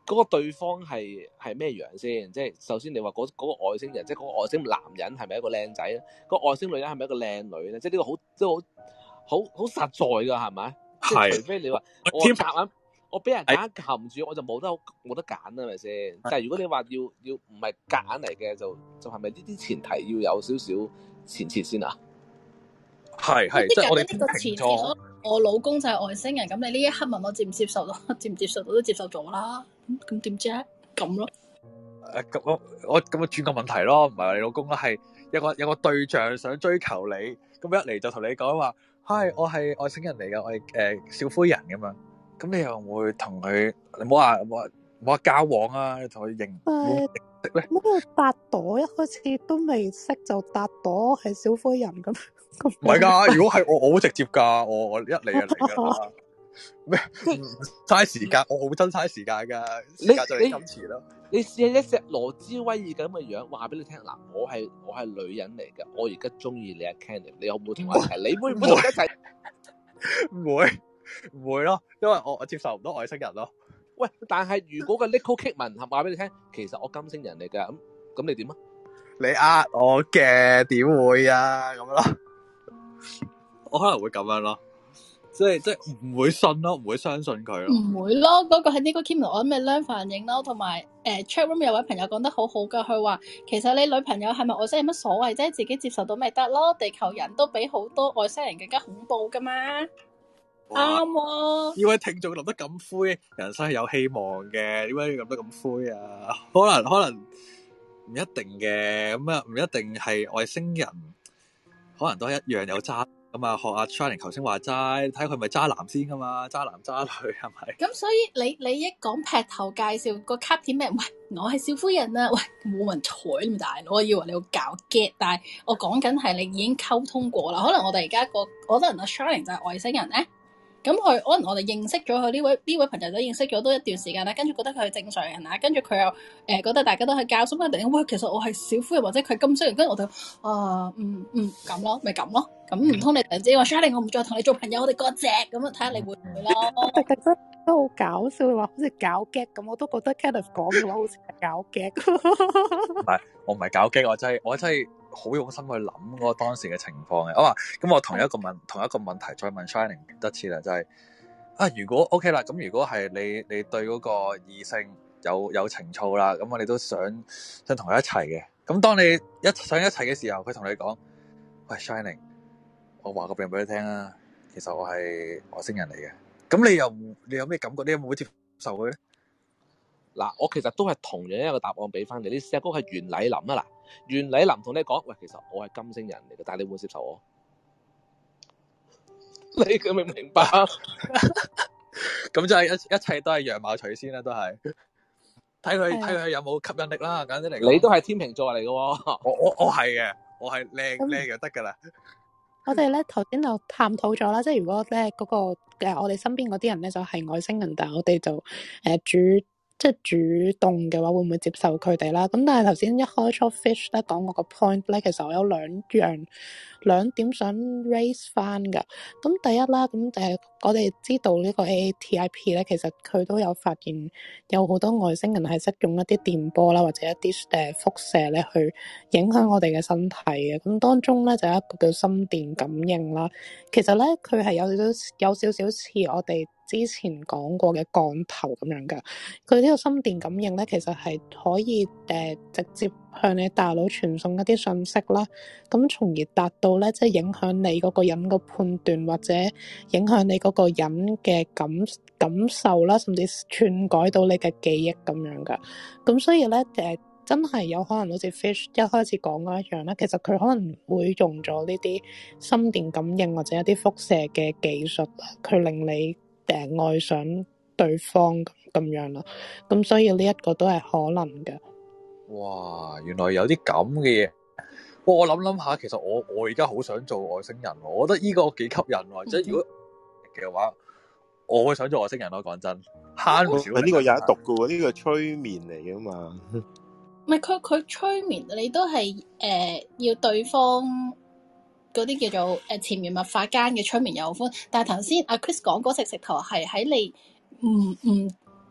嗰個對方係係咩樣先？即係首先你話嗰嗰個外星人，即係嗰個外星男人係咪一個靚仔咧？個外星女人係咪一個靚女咧？即係呢個好即係好好好實在㗎，係咪？即係除非你話我夾硬，我俾人夾硬撳住，我就冇得冇得揀啦，係咪先？但係如果你話要要唔係夾硬嚟嘅，就就係咪呢啲前提要有少少前設先啊？係係， 即係我哋呢個前設，我老公就係外星人，咁你呢一刻問我接唔接受到，接唔接受到都接受咗啦。咁點啫？咁咯。 誒，咁我我咁啊轉個問題咯，唔係話你老公啦，係有個有個對象想追求你，咁一嚟就同你講話，嗨，我係外星人嚟噶，我係誒、呃、小灰人咁樣，咁你又會同佢，你唔好話唔好話唔好話交往啊，你同佢認認識咧？ 乜嘢搭朵一開始都未識就搭朵係小灰人咁？ 唔係㗎，如果係我，我好直接㗎，我我一嚟就嚟㗎啦。咩？嘥時間，我好真嘥時間㗎，時間就係金錢咯。 你試下一隻羅茲威爾咁嘅樣，話俾你聽嗱，我係我係女人嚟㗎，我而家中意你阿 Candy， 你有冇同我一齊？你會唔會同我一齊？唔會唔會咯，因為我我接受唔到外星人咯。 喂，但係如果個 Nicole Kidman 話俾你聽，其實我金星人嚟㗎，咁咁你點啊？ 你呃我嘅，點會啊？咁樣咯。我可能會咁樣咯，即係即係唔會信咯，唔會相信佢咯。 唔會咯，嗰、那個係呢個 Kim 我諗咪兩反應咯，同埋誒 chat room 有位朋友講得好好噶，佢話其實你女朋友係咪外星人有乜所謂啫？自己接受到咪得咯，地球人都比好多外星人更加恐怖噶嘛。啱喎。呢位聽眾諗得咁灰，人生係有希望嘅，點解要諗得咁灰啊？可能可能唔一定嘅，咁啊唔一定係外星人。可能都一樣有渣咁啊！學阿 Shining 頭先話齋，睇佢咪渣男先噶嘛？渣男渣女係咪？ 咁所以你你一講劈頭介紹個卡片咩？喂，我係小灰人啊！喂，冇人睬你咪大佬，我以為你要搞 get， 但係我講緊係你已經溝通過啦。可能我哋而家個，可能阿 Shining 就係外星人咧。咁佢可能我哋認識咗佢呢位呢位朋友都認識咗都一段時間啦，跟住覺得佢係正常人啊，跟住佢又誒、呃、覺得大家都係教，所以突然間喂，其實我係小灰人或者佢係金星人，跟住我就啊嗯嗯咁咯，咪咁咯，咁唔通你突然之間話 Shining 我唔再同你做朋友，我哋割席咁啊？睇下你會唔會咯？ 特特真都好搞笑，話好似搞 gag 咁，我都覺得 Kenneth 講嘅話好似係搞 gag。 唔係，我唔係搞 gag，我真係我真係好用心去諗嗰個當時嘅情況嘅。我話咁，我同一個問同一個問題再問 Shining 一次啦，就係、是、啊，如果 OK 啦，咁如果係你你對嗰個異性有有情操啦，咁我哋都想想同佢一齊嘅。咁當你一想一齊嘅時候，佢同你講：喂 Shining， 我話個病俾你聽啊，其實我係外星人嚟嘅。咁你又你有咩感覺？你有冇會接受佢咧？ 嗱，我其實都係同樣一個答案俾翻你。你試下嗰個係袁澧林啊，嗱，袁澧林同你講，喂，其實我係金星人嚟嘅，但係你會唔會接受我？你佢明唔明白？ 咁就係一一切都係樣貌取先啦，都係睇佢睇佢有冇吸引力啦。簡單嚟講， 你都係天秤座嚟嘅喎， 我我我係嘅，我係靚靚就得噶啦。 我哋咧頭先就探討咗啦，即係如果咧嗰個誒我哋身邊嗰啲人咧就係外星人，但係我哋就誒主即係主動嘅話，會唔會接受佢哋啦？咁但係頭先一開初 Fish 咧講我個 point 咧，其實我有兩樣兩點想 raise 翻噶。咁第一啦，咁誒我哋知道呢個 A A T I P 咧，其實佢都有發現有好多外星人係識用一啲電波啦，或者一啲誒輻射咧去影響我哋嘅身體嘅。咁當中咧就有一個叫心電感應啦。其實咧佢係有少少有少少似我哋之前講過嘅降頭咁樣噶。佢呢個心電感應咧，其實係可以誒、呃、直接向你大腦傳送一啲信息啦，咁從而達到咧即係影響你嗰個人個判斷，或者影響你嗰個人嘅感感受啦，甚至篡改到你嘅記憶咁樣噶。咁所以咧誒、呃、真係有可能好似 Fish 一開始講嗰一樣咧，其實佢可能會用咗呢啲心電感應或者一啲輻射嘅技術，佢令你誒、呃、愛上對方咁咁樣啦。咁所以呢一個都係可能嘅。 哇，原來有啲咁嘅嘢。我諗諗下，其實我我而家好想做外星人，我覺得呢個幾吸引喎。即係、嗯、如果嘅話，我會想做外星人咯。講真，慳少少。呢個有得讀嘅喎，呢、呢個催眠嚟嘅嘛。 唔係佢佢催眠，你都係誒、呃、要對方嗰啲叫做誒潛移默化間嘅催眠有歡。但係頭先阿 Chris 講嗰食食頭係喺你唔唔。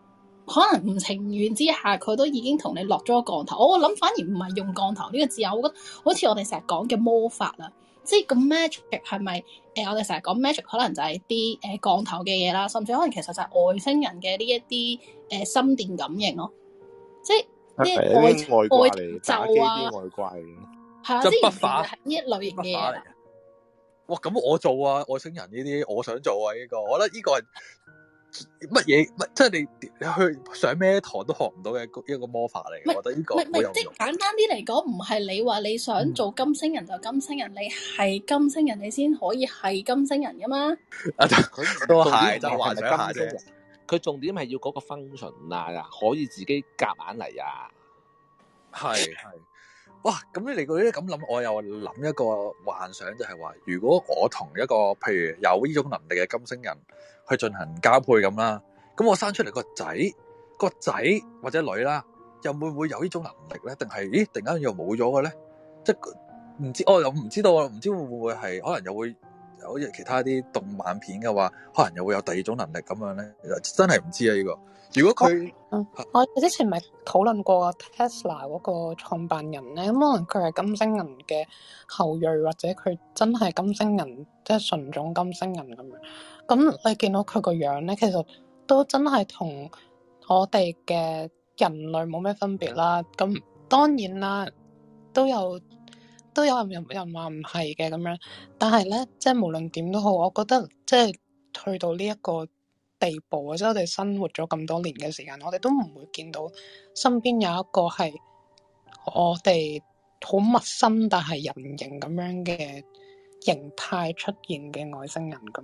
可能唔情願之下，佢都已經同你落咗個降頭。我諗反而唔係用降頭呢個字啊，我覺得好似我哋成日講嘅魔法啦，即係個 magic 係咪誒？我哋成日講 magic 可能就係啲誒降頭嘅嘢啦，甚至可能其實就係外星人嘅呢一啲誒心電感應咯，即係啲外外掛嚟就打機啊， 啲外掛嚟。 係啊， 即即係係筆法係呢一類型嘅嘢啦。 哇！咁我做啊，外星人呢啲我想做啊，呢、這個我覺得呢個係乜嘢？乜即係你你去上咩堂都學唔到嘅一個魔法嚟嘅。我覺得呢個好有用。 即係簡單啲嚟講，唔係你話你想做金星人就金星人，嗯、你係金星人你先可以係金星人噶嘛？ 啊，都係就幻想下啫。 佢重點係要嗰個 function 啊，可以自己夾硬嚟啊。 係係。哇！咁你嚟嗰啲咁諗，我又諗一個幻想，就係話，如果我同一個譬如有呢種能力嘅金星人去進行交配咁啦，咁我生出嚟個仔個仔或者女啦，又會唔會有呢種能力咧？定係咦，突然間又冇咗嘅咧？即係唔知，我又唔知道，唔知會唔會係可能又會好似其他啲動漫片嘅話，可能又會有第二種能力咁樣咧？真係唔知啊！呢個如果佢， 嗯，我之前咪討論過 Tesla 嗰個創辦人咧，咁可能佢係金星人嘅後裔，或者佢真係金星人，即係純種金星人咁樣。咁你見到佢個樣咧，其實都真係同我哋嘅人類冇咩分別啦。咁當然啦，都有都有人人話唔係嘅咁樣，但係咧，即係無論點都好，我覺得即係去到呢一個地步啊！即係我哋生活咗咁多年嘅時間，我哋都唔會見到身邊有一個係我哋好陌生但係人形咁樣嘅形態出現嘅外星人噶嘛？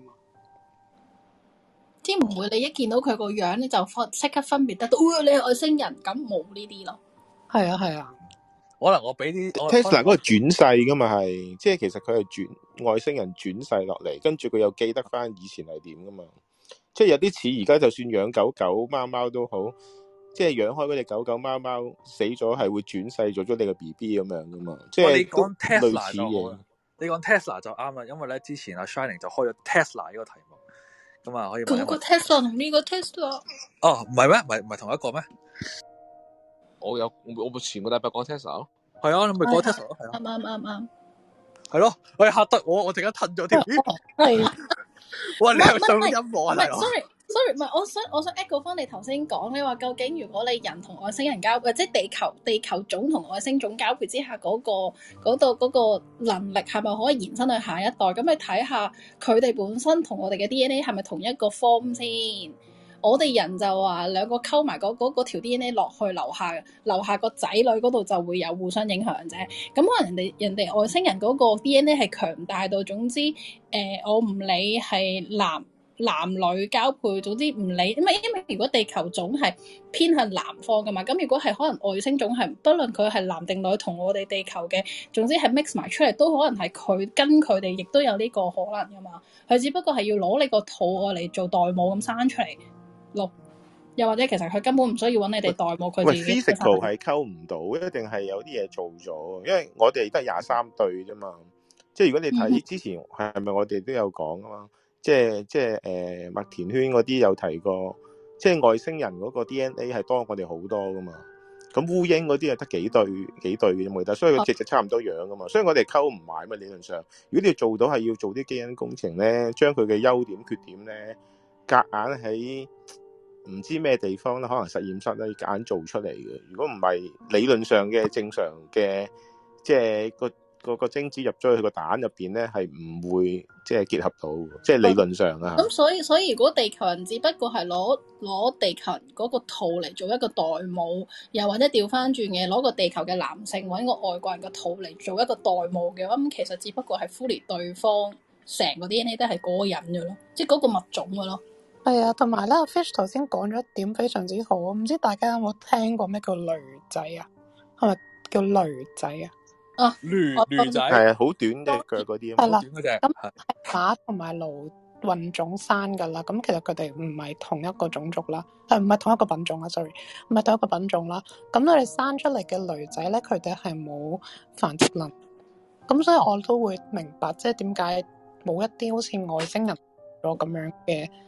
即係唔會你一見到佢個樣你就即刻分別得到，哦，你係外星人咁，冇呢啲咯。係啊係啊， 可能我俾啲 Tesla 嗰個轉世噶嘛係，即係其實佢係轉外星人轉世落嚟，跟住佢又記得翻以前係點噶嘛。即係有啲似而家就算養狗狗貓貓都好，即係養開嗰隻狗狗貓貓死咗係會轉世做咗你個 B B 咁樣噶嘛。即係你講 Tesla 類似嘅， 你講 Tesla 就啱啦，因為咧之前阿 Shining 就開咗 Tesla 呢個題目，咁啊可以問。 嗰個 Tesla 同呢個 Tesla 哦，唔係咩？唔係唔係同一個咩？ 我有我我前個禮拜講 Tesla 咯， 係啊，你咪講 Tesla 咯，係啊， 啱啱啱啱， 係咯，我嚇得我，我陣間褪咗添。係。哇！你又上音樂啊？ 唔係，sorry sorry，唔係，我想我想 echo 翻你頭先講，你話究竟如果你人同外星人交配，即係地球地球種同外星種交配之下嗰個嗰度嗰個能力係咪可以延伸去下一代？咁你睇下佢哋本身同我哋嘅 D N A 係咪同一個 form 先？我哋人就話兩個溝埋嗰嗰嗰條 D N A 落去樓下樓下個仔女嗰度就會有互相影響啫。咁可能人哋人哋外星人嗰個 D N A 係強大到，總之誒、呃、我唔理係男男女交配，總之唔理，因為因為如果地球種係偏向南方噶嘛，咁如果係可能外星種係不論佢係男定女，同我哋地球嘅總之係 mix 埋出嚟，都可能係佢跟佢哋亦都有呢個可能噶嘛。佢只不過係要攞你個肚愛嚟做代母咁生出嚟。又或者其實佢根本唔需要揾你哋代母，佢自己。喂 physical 係溝唔到，一定係有啲嘢做咗。因為我哋得廿三對啫嘛，即係如果你睇之前係咪我哋都有講啊嘛，即係即係誒麥田圈嗰啲有提過，即係外星人嗰個 D N A 係多我哋好多噶嘛。咁烏蠅嗰啲係得幾對幾對嘅啫嘛，所以佢隻隻差唔多樣噶嘛，所以我哋溝唔埋嘛理論上。如果你要做到係要做啲基因工程咧，將佢嘅優點缺點咧夾硬喺唔知咩地方咧，可能實驗室咧夾硬做出嚟嘅。如果唔係理論上嘅正常嘅，即係個個個精子入咗去個蛋入邊咧，係唔會即係結合到，即係理論上啊。 咁所以所以如果地球人只不過係攞攞地球人嗰個肚嚟做一個代母，又或者調翻轉嘅攞個地球嘅男性揾個外國人嘅肚嚟做一個代母嘅話，咁其實只不過係 fully 對方成個 D N A 都係嗰個人嘅咯，即係嗰個物種嘅咯。 係啊，同埋咧，Fish 頭先講咗一點非常之好，唔知大家有冇聽過咩叫驢仔啊？係咪叫驢仔啊？ 啊， 驢驢仔係啊，好短嘅腳嗰啲， 係啦， 短嗰隻。 咁係馬同埋驢混種生噶啦，咁其實佢哋唔係同一個種族啦，係唔係同一個品種啊 ？sorry， 唔係同一個品種啦。咁佢哋生出嚟嘅驢仔咧，佢哋係冇繁殖能力，咁所以我都會明白，即係點解冇一啲好似外星人咗咁樣嘅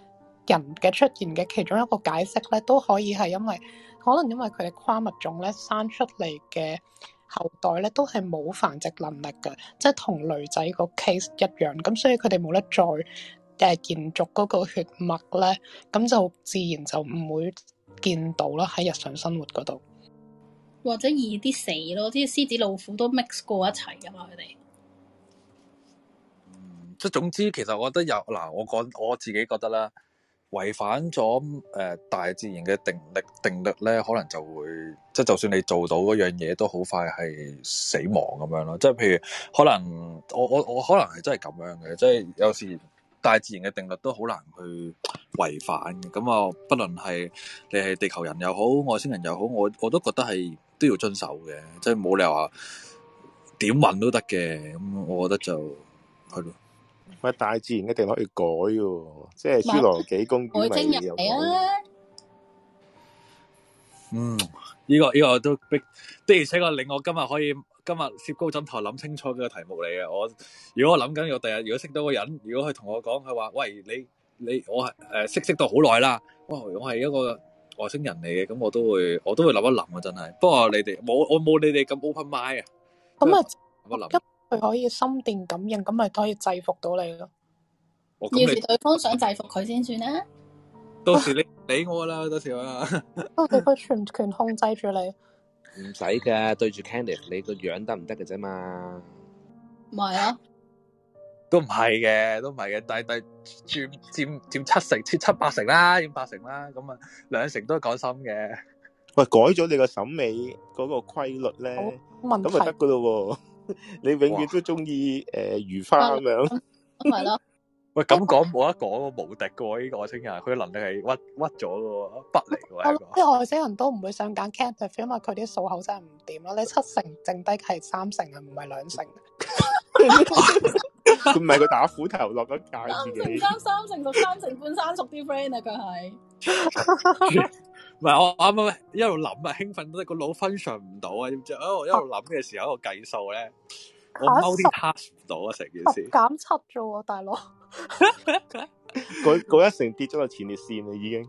人嘅出現嘅其中一個解釋咧，都可以係因為可能因為佢哋跨物種咧生出嚟嘅後代咧都係冇繁殖能力嘅，即係同女仔個 case 一樣，咁所以佢哋冇得再誒延續嗰個血脈咧，咁就自然就唔會見到啦喺日常生活嗰度， 或者易啲死咯，啲獅子老虎都 mix 過一齊噶嘛，佢哋。 即係總之，其實我覺得有嗱，我講我自己覺得啦，違反咗誒、呃、大自然嘅定力定律咧，可能就會即係就算你做到嗰樣嘢，都好快係死亡咁樣咯。即係譬如可能我我我可能係真係咁樣嘅，即係有時大自然嘅定律都好難去違反嘅。咁啊，不論係你係地球人又好，外星人又好，我我都覺得係都要遵守嘅，即係冇理由話點運都得嘅。咁我覺得就係咯。 喂，大自然一定可以改嘅，即係侏羅紀公園咪有改。 嗯，呢、這個呢、這個都逼的，而且確令我今日可以今日攝高枕頭諗清楚嘅題目嚟嘅。我如果我諗緊，我第日如果識到個人，如果佢同我講，佢話喂，你你我係誒識識到好耐啦，哇，我係一個外星人嚟嘅，咁我都會我都會諗一諗啊，真係。不過你哋冇我冇你哋咁 open mind 啊。咁啊， 諗一諗。佢可以心電感應，咁咪可以制服到你咯。 要是對方想制服佢先算啦。 到時你理我啦，到時啊。 到時佢全權控制住你。 唔使㗎，對住 Candice 你個樣得唔得嘅啫嘛？ 唔係啊， 都唔係嘅，都唔係嘅，但係但係佔佔佔七成，佔七八成啦，佔八成啦，咁啊兩成都係講心嘅。 喂，改咗你個審美嗰個規律咧，咁咪得噶咯喎。你永遠都中意誒如花咁樣， 係咯。 喂，咁講冇得講喎，無敵嘅喎呢個外星人，佢嘅能力係屈屈咗嘅喎，不嚟嘅喎。 啲外星人都唔會想揀 Candice，因為佢啲數口真係唔掂咯。你七成剩低係三成啊，唔係兩成。 佢唔係佢打斧頭落咗界自己。 三成三成熟三成半生熟啲 friend 啊，佢係。 唔係我啱啱一路諗啊，興奮到個腦 function 唔到啊，知唔知？哦，一路諗嘅時候，一個計數咧，我 multitask 唔到啊，成件事。 減七啫喎，大佬。 嗰嗰一成跌咗落前列腺啦，已經。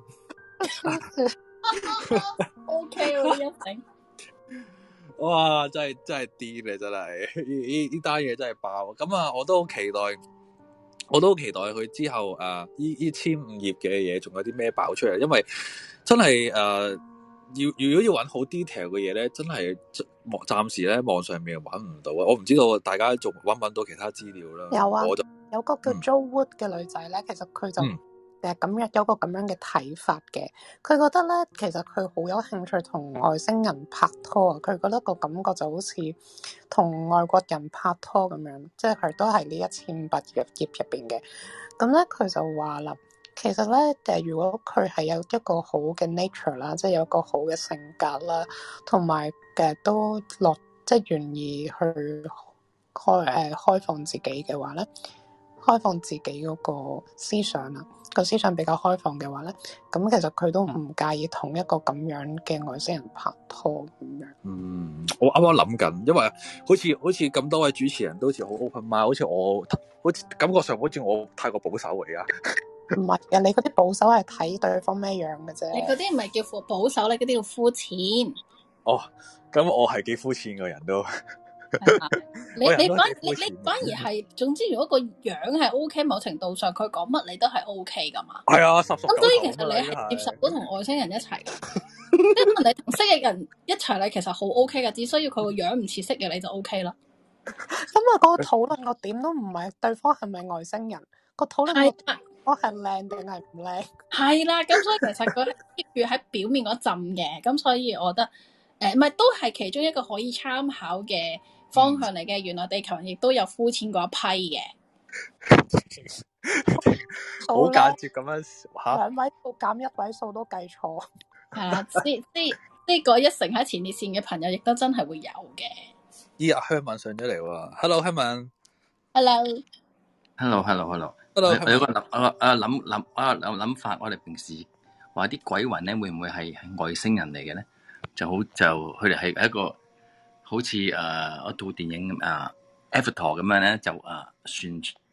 O K 喎，一成。 哇！真係真係癲咧，真係呢呢單嘢真係爆。咁啊，我都好期待。我都好期待佢之後誒，呢呢千五頁嘅嘢，仲有啲咩爆出嚟？因為真係誒、呃，要如果要揾好 detail 嘅嘢咧，真係暫時咧網上面揾唔到啊！我唔知道大家仲揾唔揾到其他資料啦。 有啊， 我就有個叫 Jo Wood 嘅女仔咧，其實佢就誒咁樣有個咁樣嘅睇法嘅。佢覺得咧，其實佢好有興趣同外星人拍拖啊！佢覺得個感覺就好似同外國人拍拖咁樣，即係佢都係呢一千八頁頁入邊嘅。咁咧，佢就話啦，其實咧誒，如果佢係有一個好嘅 nature 啦，即係有一個好嘅性格啦，同埋嘅都落即係願意去開誒、呃、開放自己嘅話咧，開放自己嗰個思想啊，個思想比較開放嘅話咧，咁其實佢都唔介意同一個咁樣嘅外星人拍拖咁樣。 嗯，我啱啱諗緊，因為好似好似咁多位主持人都好似好 open mind，好似我好似感覺上好似我太過保守嚟啊。 唔係啊，你嗰啲保守係睇對方咩樣嘅啫。 你嗰啲唔係叫保守，你嗰啲叫膚淺。 哦，咁我係幾膚淺嘅人都。 你你反你你反而係，總之如果個樣係 O K，某程度上佢講乜你都係 O K 噶嘛。 係啊，十十。 咁所以其實你係接受到同外星人一齊嘅，即係你同識嘅人一齊，你其實好 O K 嘅，只需要佢個樣唔似識嘅你就 O K 啦。 咁啊，嗰個討論個點都唔係對方係咪外星人，個討論個點我係靚定係唔靚？係啦，咁所以其實佢係 keep 住喺表面嗰陣嘅，咁所以我覺得誒，唔係都係其中一個可以參考嘅方向嚟嘅。原來地球人亦都有膚淺嗰一批嘅， 好間接咁樣吓， 兩位數減一位數都計錯。 係啦，即即即嗰一成喺前列腺嘅朋友，亦都真係會有嘅。 咦，阿香文上咗嚟喎 ，Hello 香文 ，Hello，Hello，Hello，Hello，我有個諗啊啊諗諗啊諗諗法，我哋平時話啲鬼魂咧，會唔會係係外星人嚟嘅咧？就好就佢哋係一個好似誒一套電影啊 Avatar 咁樣咧，就誒、啊、船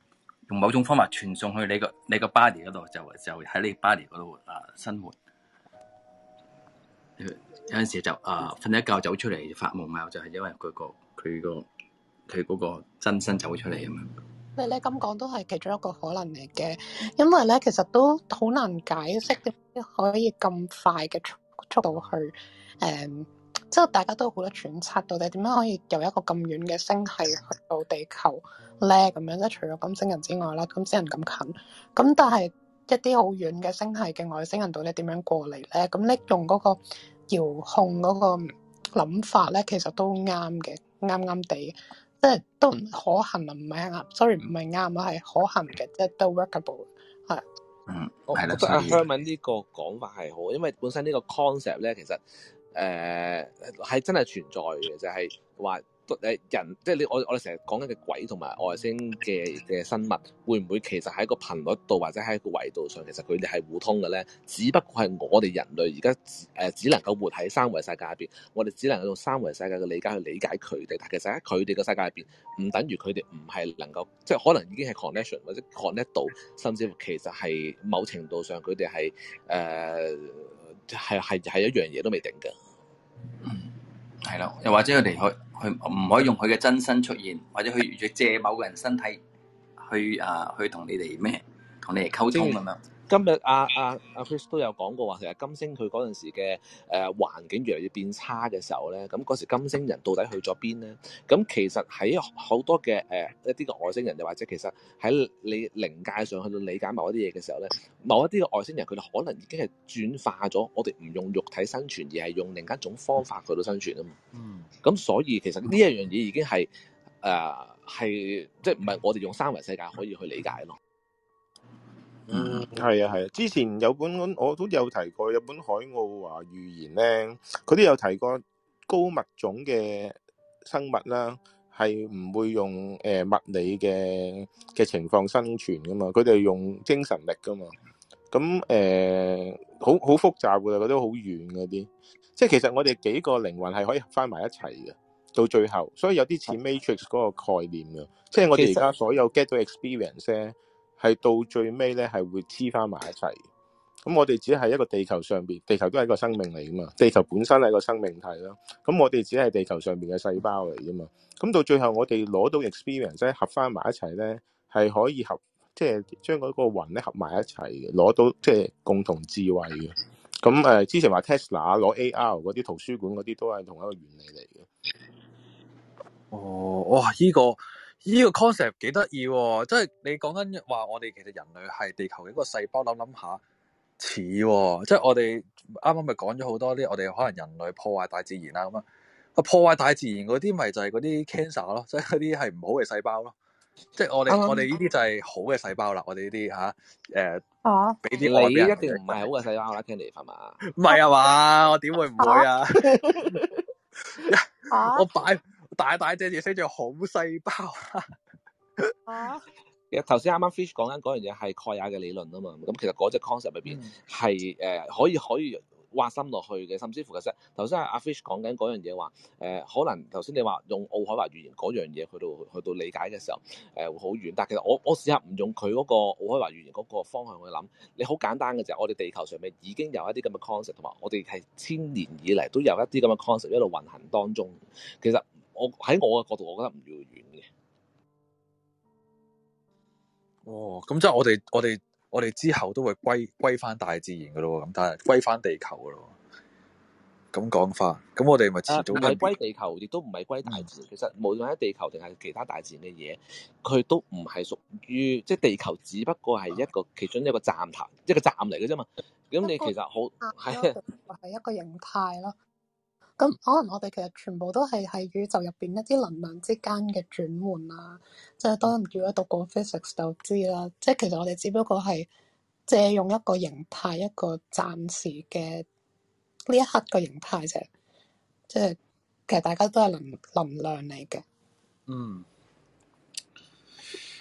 用某種方法傳送去你個你個 body 嗰度，就就喺你 body 嗰度啊生活。有陣時就啊瞓一覺走出嚟發夢啊，就係、是、因為佢、個佢個佢嗰個真身走出嚟咁樣。 你你咁講都係其中一個可能嚟嘅，因為咧其實都好難解釋點解可以咁快嘅速速度去誒、嗯，即係大家都好多揣測到底點樣可以由一個咁遠嘅星系去到地球咧咁樣，即係除咗金星人之外啦，金星人咁近，咁但係一啲好遠嘅星系嘅外星人到底點樣過嚟咧？咁你用嗰個遙控嗰個諗法咧，其實都啱嘅，啱啱地。即係都唔可行啊，唔係啱，sorry 唔係啱啊，係可行嘅，即係都 workable 係。 嗯， 我覺得阿 Herman 呢個講法係好，因為本身呢個 concept 咧，其實誒係、呃、真係存在嘅，就係話誒人，即係你我我哋成日講緊嘅鬼同埋外星嘅嘅生物，會唔會其實喺個頻率度或者喺個維度上，其實佢哋係互通嘅咧？只不過係我哋人類而家誒只能夠活喺三維世界入邊，我哋只能夠用三維世界嘅理解去理解佢哋，但其實喺佢哋嘅世界入邊，唔等於佢哋唔係能夠，即係可能已經係 connection 或者 connect 到，甚至乎其實係某程度上佢哋係誒係係係一樣嘢都未定嘅。 嗯，係咯，又或者佢哋去去唔可以用佢嘅真身出現，或者去借某個人身體去啊去同你哋咩，同你哋溝通咁樣。 今日阿阿阿 Chris 都有講過話，其實金星佢嗰陣時嘅誒、呃、環境越嚟越變差嘅時候咧，咁嗰時金星人到底去咗邊咧？咁其實喺好多嘅誒、呃、一啲嘅外星人，又或者其實喺你靈界上去到理解某一啲嘢嘅時候咧，某一啲嘅外星人佢哋可能已經係轉化咗，我哋唔用肉體生存，而係用另一種方法去到生存啊嘛。嗯。咁所以其實呢一樣嘢已經係誒係即係唔係我哋用三維世界可以去理解咯。 嗯，係啊，係啊。之前有本我都有提過，有本海奧華預言咧，佢都有提過高物種嘅生物啦，係唔會用誒、呃、物理嘅嘅情況生存噶嘛，佢哋用精神力噶嘛。咁誒，好好複雜噶，覺得好遠嗰啲。即係其實我哋幾個靈魂係可以合翻埋一齊嘅，到最後，所以有啲似 Matrix 嗰個概念嘅。即係我哋而家所有 get 到 experience 咧。係到最尾咧，係會黐翻埋一齊。咁我哋只係一個地球上邊，地球都係一個生命嚟噶嘛。地球本身係一個生命體咯。咁我哋只係地球上邊嘅細胞嚟噶嘛。咁到最後我哋攞到 experience 咧，合翻埋一齊咧，係可以合，即係將嗰個魂咧合埋一齊嘅，攞到即係共同智慧嘅。咁誒，之前話 Tesla 攞 A R 嗰啲圖書館嗰啲都係同一個原理嚟嘅。 哦，哇！依、這個依、這個 concept 幾得意喎，即係你講緊話我哋其實人類係地球嘅一個細胞，諗諗下似喎，即係我哋啱啱咪講咗好多啲，我哋可能人類破壞大自然啊咁啊，破壞大自然嗰啲咪就係嗰啲 cancer 咯，即係嗰啲係唔好嘅細胞咯，即係我哋、嗯、我哋呢啲就係好嘅細胞啦，我哋呢啲吓誒，啊，俾啲你一定唔係好嘅細胞啦，Candy 係嘛？ 唔係啊嘛，我點會唔會啊？啊我擺。大大隻字寫住好細胞啊！ 其實頭先啱啱 Fish 講緊嗰樣嘢係蓋亞嘅理論啊嘛，咁其實嗰隻 concept 裏邊係誒可以可以挖深落去嘅，甚至乎其實頭先阿 Fish 講緊嗰樣嘢話誒，可能頭先你話用奧海華語言嗰樣嘢去到去到理解嘅時候誒、呃、會好遠，但係其實我我試下唔用佢嗰個奧海華語言嗰個方向去諗，你好簡單嘅就係我哋地球上面已經有一啲咁嘅 concept， 同埋我哋係千年以嚟都有一啲咁嘅 concept 一路運行當中，其實。我喺我嘅角度，我覺得唔遙遠嘅。 哦，咁即係我哋，我哋，我哋之後都會歸歸翻大自然噶咯，咁但係歸翻地球噶咯。咁講法，咁我哋咪遲早唔係歸地球，亦都唔係歸大自然。嗯、其實無論喺地球定係其他大自然嘅嘢，佢都唔係屬於，即係地球只不過係一個其中一個站頭，一個站嚟嘅啫嘛。咁你其實好係係一個形態咯。咁可能我哋其實全部都係喺宇宙入邊一啲能量之間嘅轉換啊，即係當然如果讀過 physics 就知啦。即係其實我哋只不過係借用一個形態，一個暫時嘅呢一刻嘅形態啫。即係其實大家都係能能量嚟嘅。 嗯。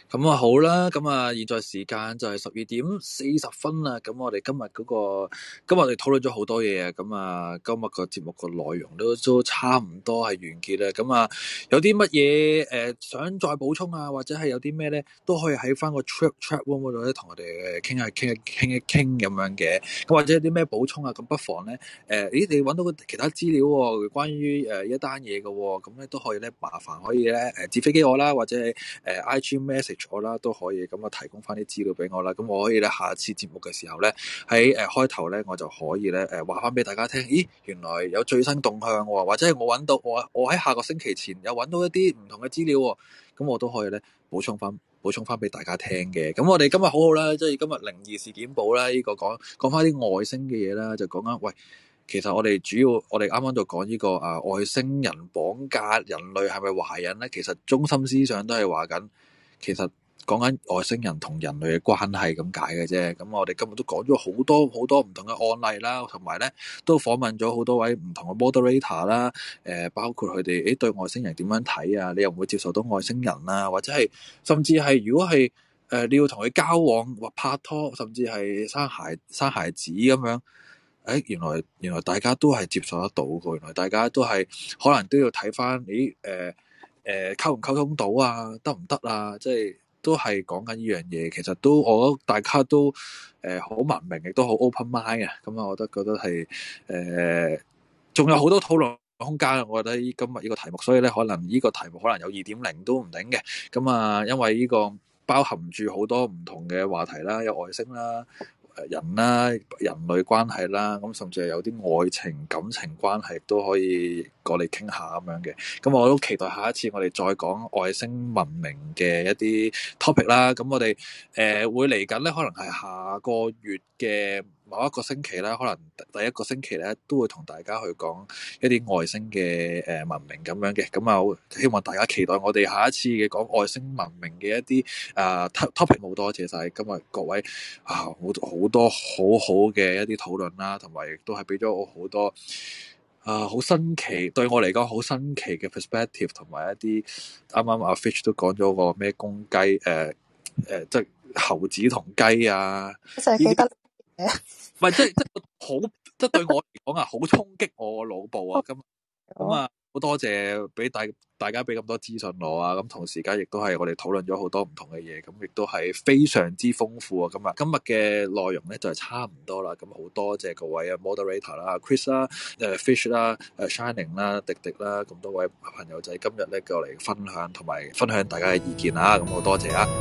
咁啊好啦，咁啊現在時間就係十二點四十分啦。咁我哋今日嗰、那個，今日我哋討論咗好多嘢啊。咁啊，今日個節目個內容都都差唔多係完結啦。咁啊，有啲乜嘢誒想再補充啊，或者係有啲咩咧，都可以喺翻個 chat chat room 嗰度咧，同我哋傾下傾一傾一傾咁樣嘅。咁或者有啲咩補充啊，咁不妨咧誒、呃，咦你揾到個其他資料喎、哦，關於誒、呃、一單嘢嘅喎，咁咧都可以咧，麻煩可以咧誒紙飛機我啦，或者係誒、呃、I G message。我啦都可以咁啊，提供翻啲資料俾我啦。咁我可以咧，下次節目嘅時候咧，喺誒、呃、開頭咧，我就可以咧誒話翻俾大家聽。咦，原來有最新動向喎，或者係我揾到我我喺下個星期前有揾到一啲唔同嘅資料喎。咁我都可以咧補充翻補充翻俾大家聽嘅。咁我哋今日好好啦，即係今日靈異事件簿啦，呢、這個講講翻啲外星嘅嘢啦，就講緊喂，其實我哋主要我哋啱啱就講呢個啊外星人綁架人類係咪懷孕咧？其實中心思想都係話緊。其實講緊外星人同人類嘅關係咁解嘅啫，咁我哋今日都講咗好多好多唔同嘅案例啦，同埋咧都訪問咗好多位唔同嘅 moderator 啦，誒包括佢哋誒對外星人點樣睇啊？你又唔會接受到外星人啊？或者係甚至係如果係誒、呃、你要同佢交往或拍拖，甚至係生孩生孩子咁樣，誒原來原來大家都係接受得到嘅，原來大家都係可能都要睇翻誒誒。誒溝唔溝通到啊？得唔得啊？即係都係講緊呢樣嘢。其實都我覺得大家都誒好、呃、文明，亦都好 open mind 啊。咁啊，我都覺得係誒仲有好多討論空間。我覺得今日呢個題目，所以咧可能呢個題目可能有二點零都唔定嘅。咁啊，因為呢個包含住好多唔同嘅話題啦，有外星啦。人啦，人類關係啦，咁甚至係有啲愛情感情關係都可以過嚟傾下咁樣嘅。咁我都期待下一次我哋再講外星文明嘅一啲 topic 啦。咁我哋誒、呃、會嚟緊咧，可能係下個月嘅某一個星期啦，可能第一個星期咧都會同大家去講一啲外星嘅誒文明咁樣嘅。咁啊，希望大家期待我哋下一次嘅講外星文明嘅一啲啊 topic。好多謝晒今日各位啊，好好多好好嘅一啲討論啦，同埋亦都係俾咗我好多啊好新奇，對我嚟講好新奇嘅 perspective， 同埋一啲啱啱阿 Fish 都講咗個咩公雞誒誒，即係猴子同雞啊， 就係記得嘅， 唔係即係即係好，即係對我嚟講啊，好衝擊我個腦部啊！咁咁啊，好多謝俾大大家俾咁多資訊我啊！咁同時間亦都係我哋討論咗好多唔同嘅嘢，咁亦都係非常之豐富啊！今日今日嘅內容咧就係差唔多啦，咁好多謝各位啊 moderator 啦、Chris 啦、誒 Fish 啦、誒 Shining 啦、迪迪啦，咁多位朋友仔今日咧過嚟分享同埋分享大家嘅意見啊！咁好多謝啊！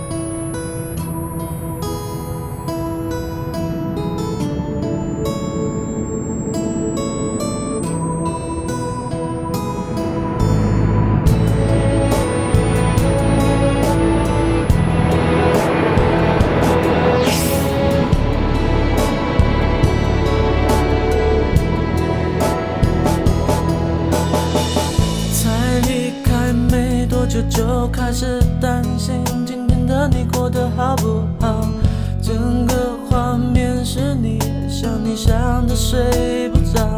就開始擔心今天的你過得好不好，整個畫面是你想你想的睡不着，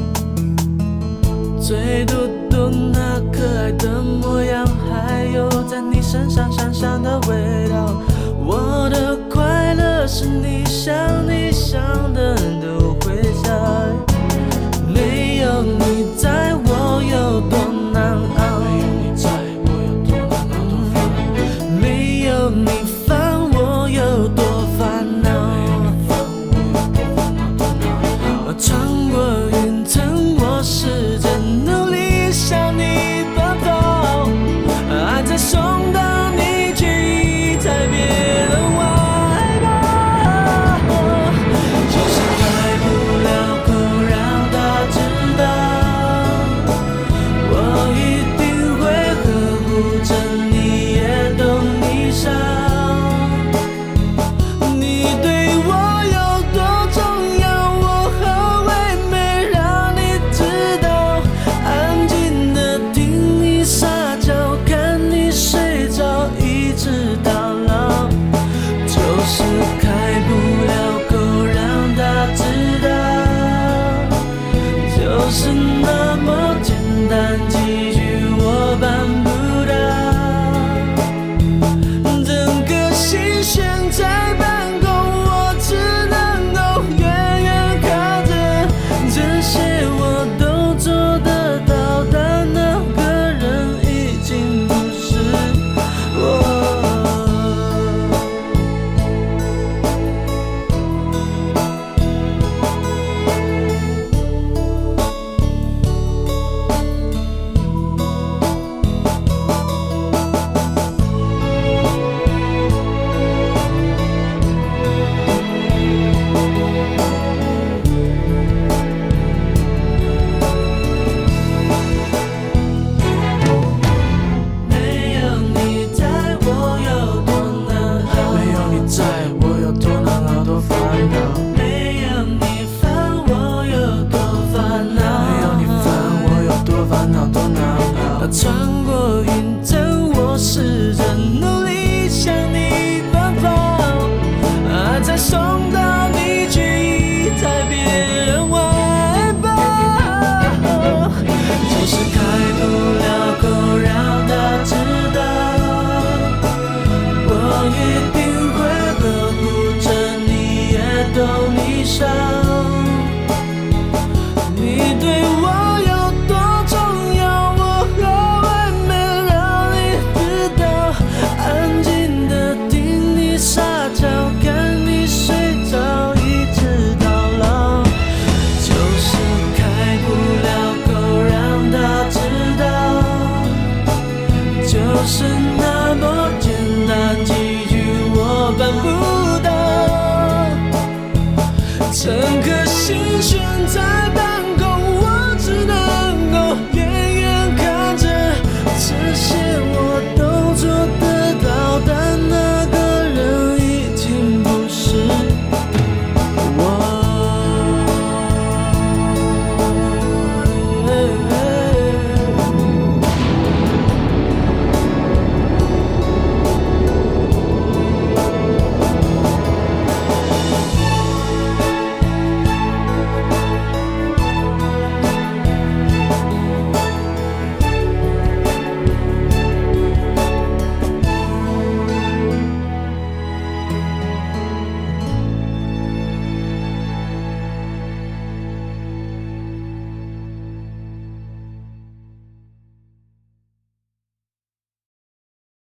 最嘟嘟那可愛的模樣，還有在你身上香香的味道，我的快樂是你想你想的都會在，沒有你在我有多難熬，你煩我有多煩惱，穿過雲層我試着努力向你奔跑，愛在送到你卻一再別了我害怕，就是開不了口讓他知道，我一定會呵護着你也懂你傷，你對我有多重要，我何謂沒讓你知道，安靜的聽你撒嬌，看你睡着， 上。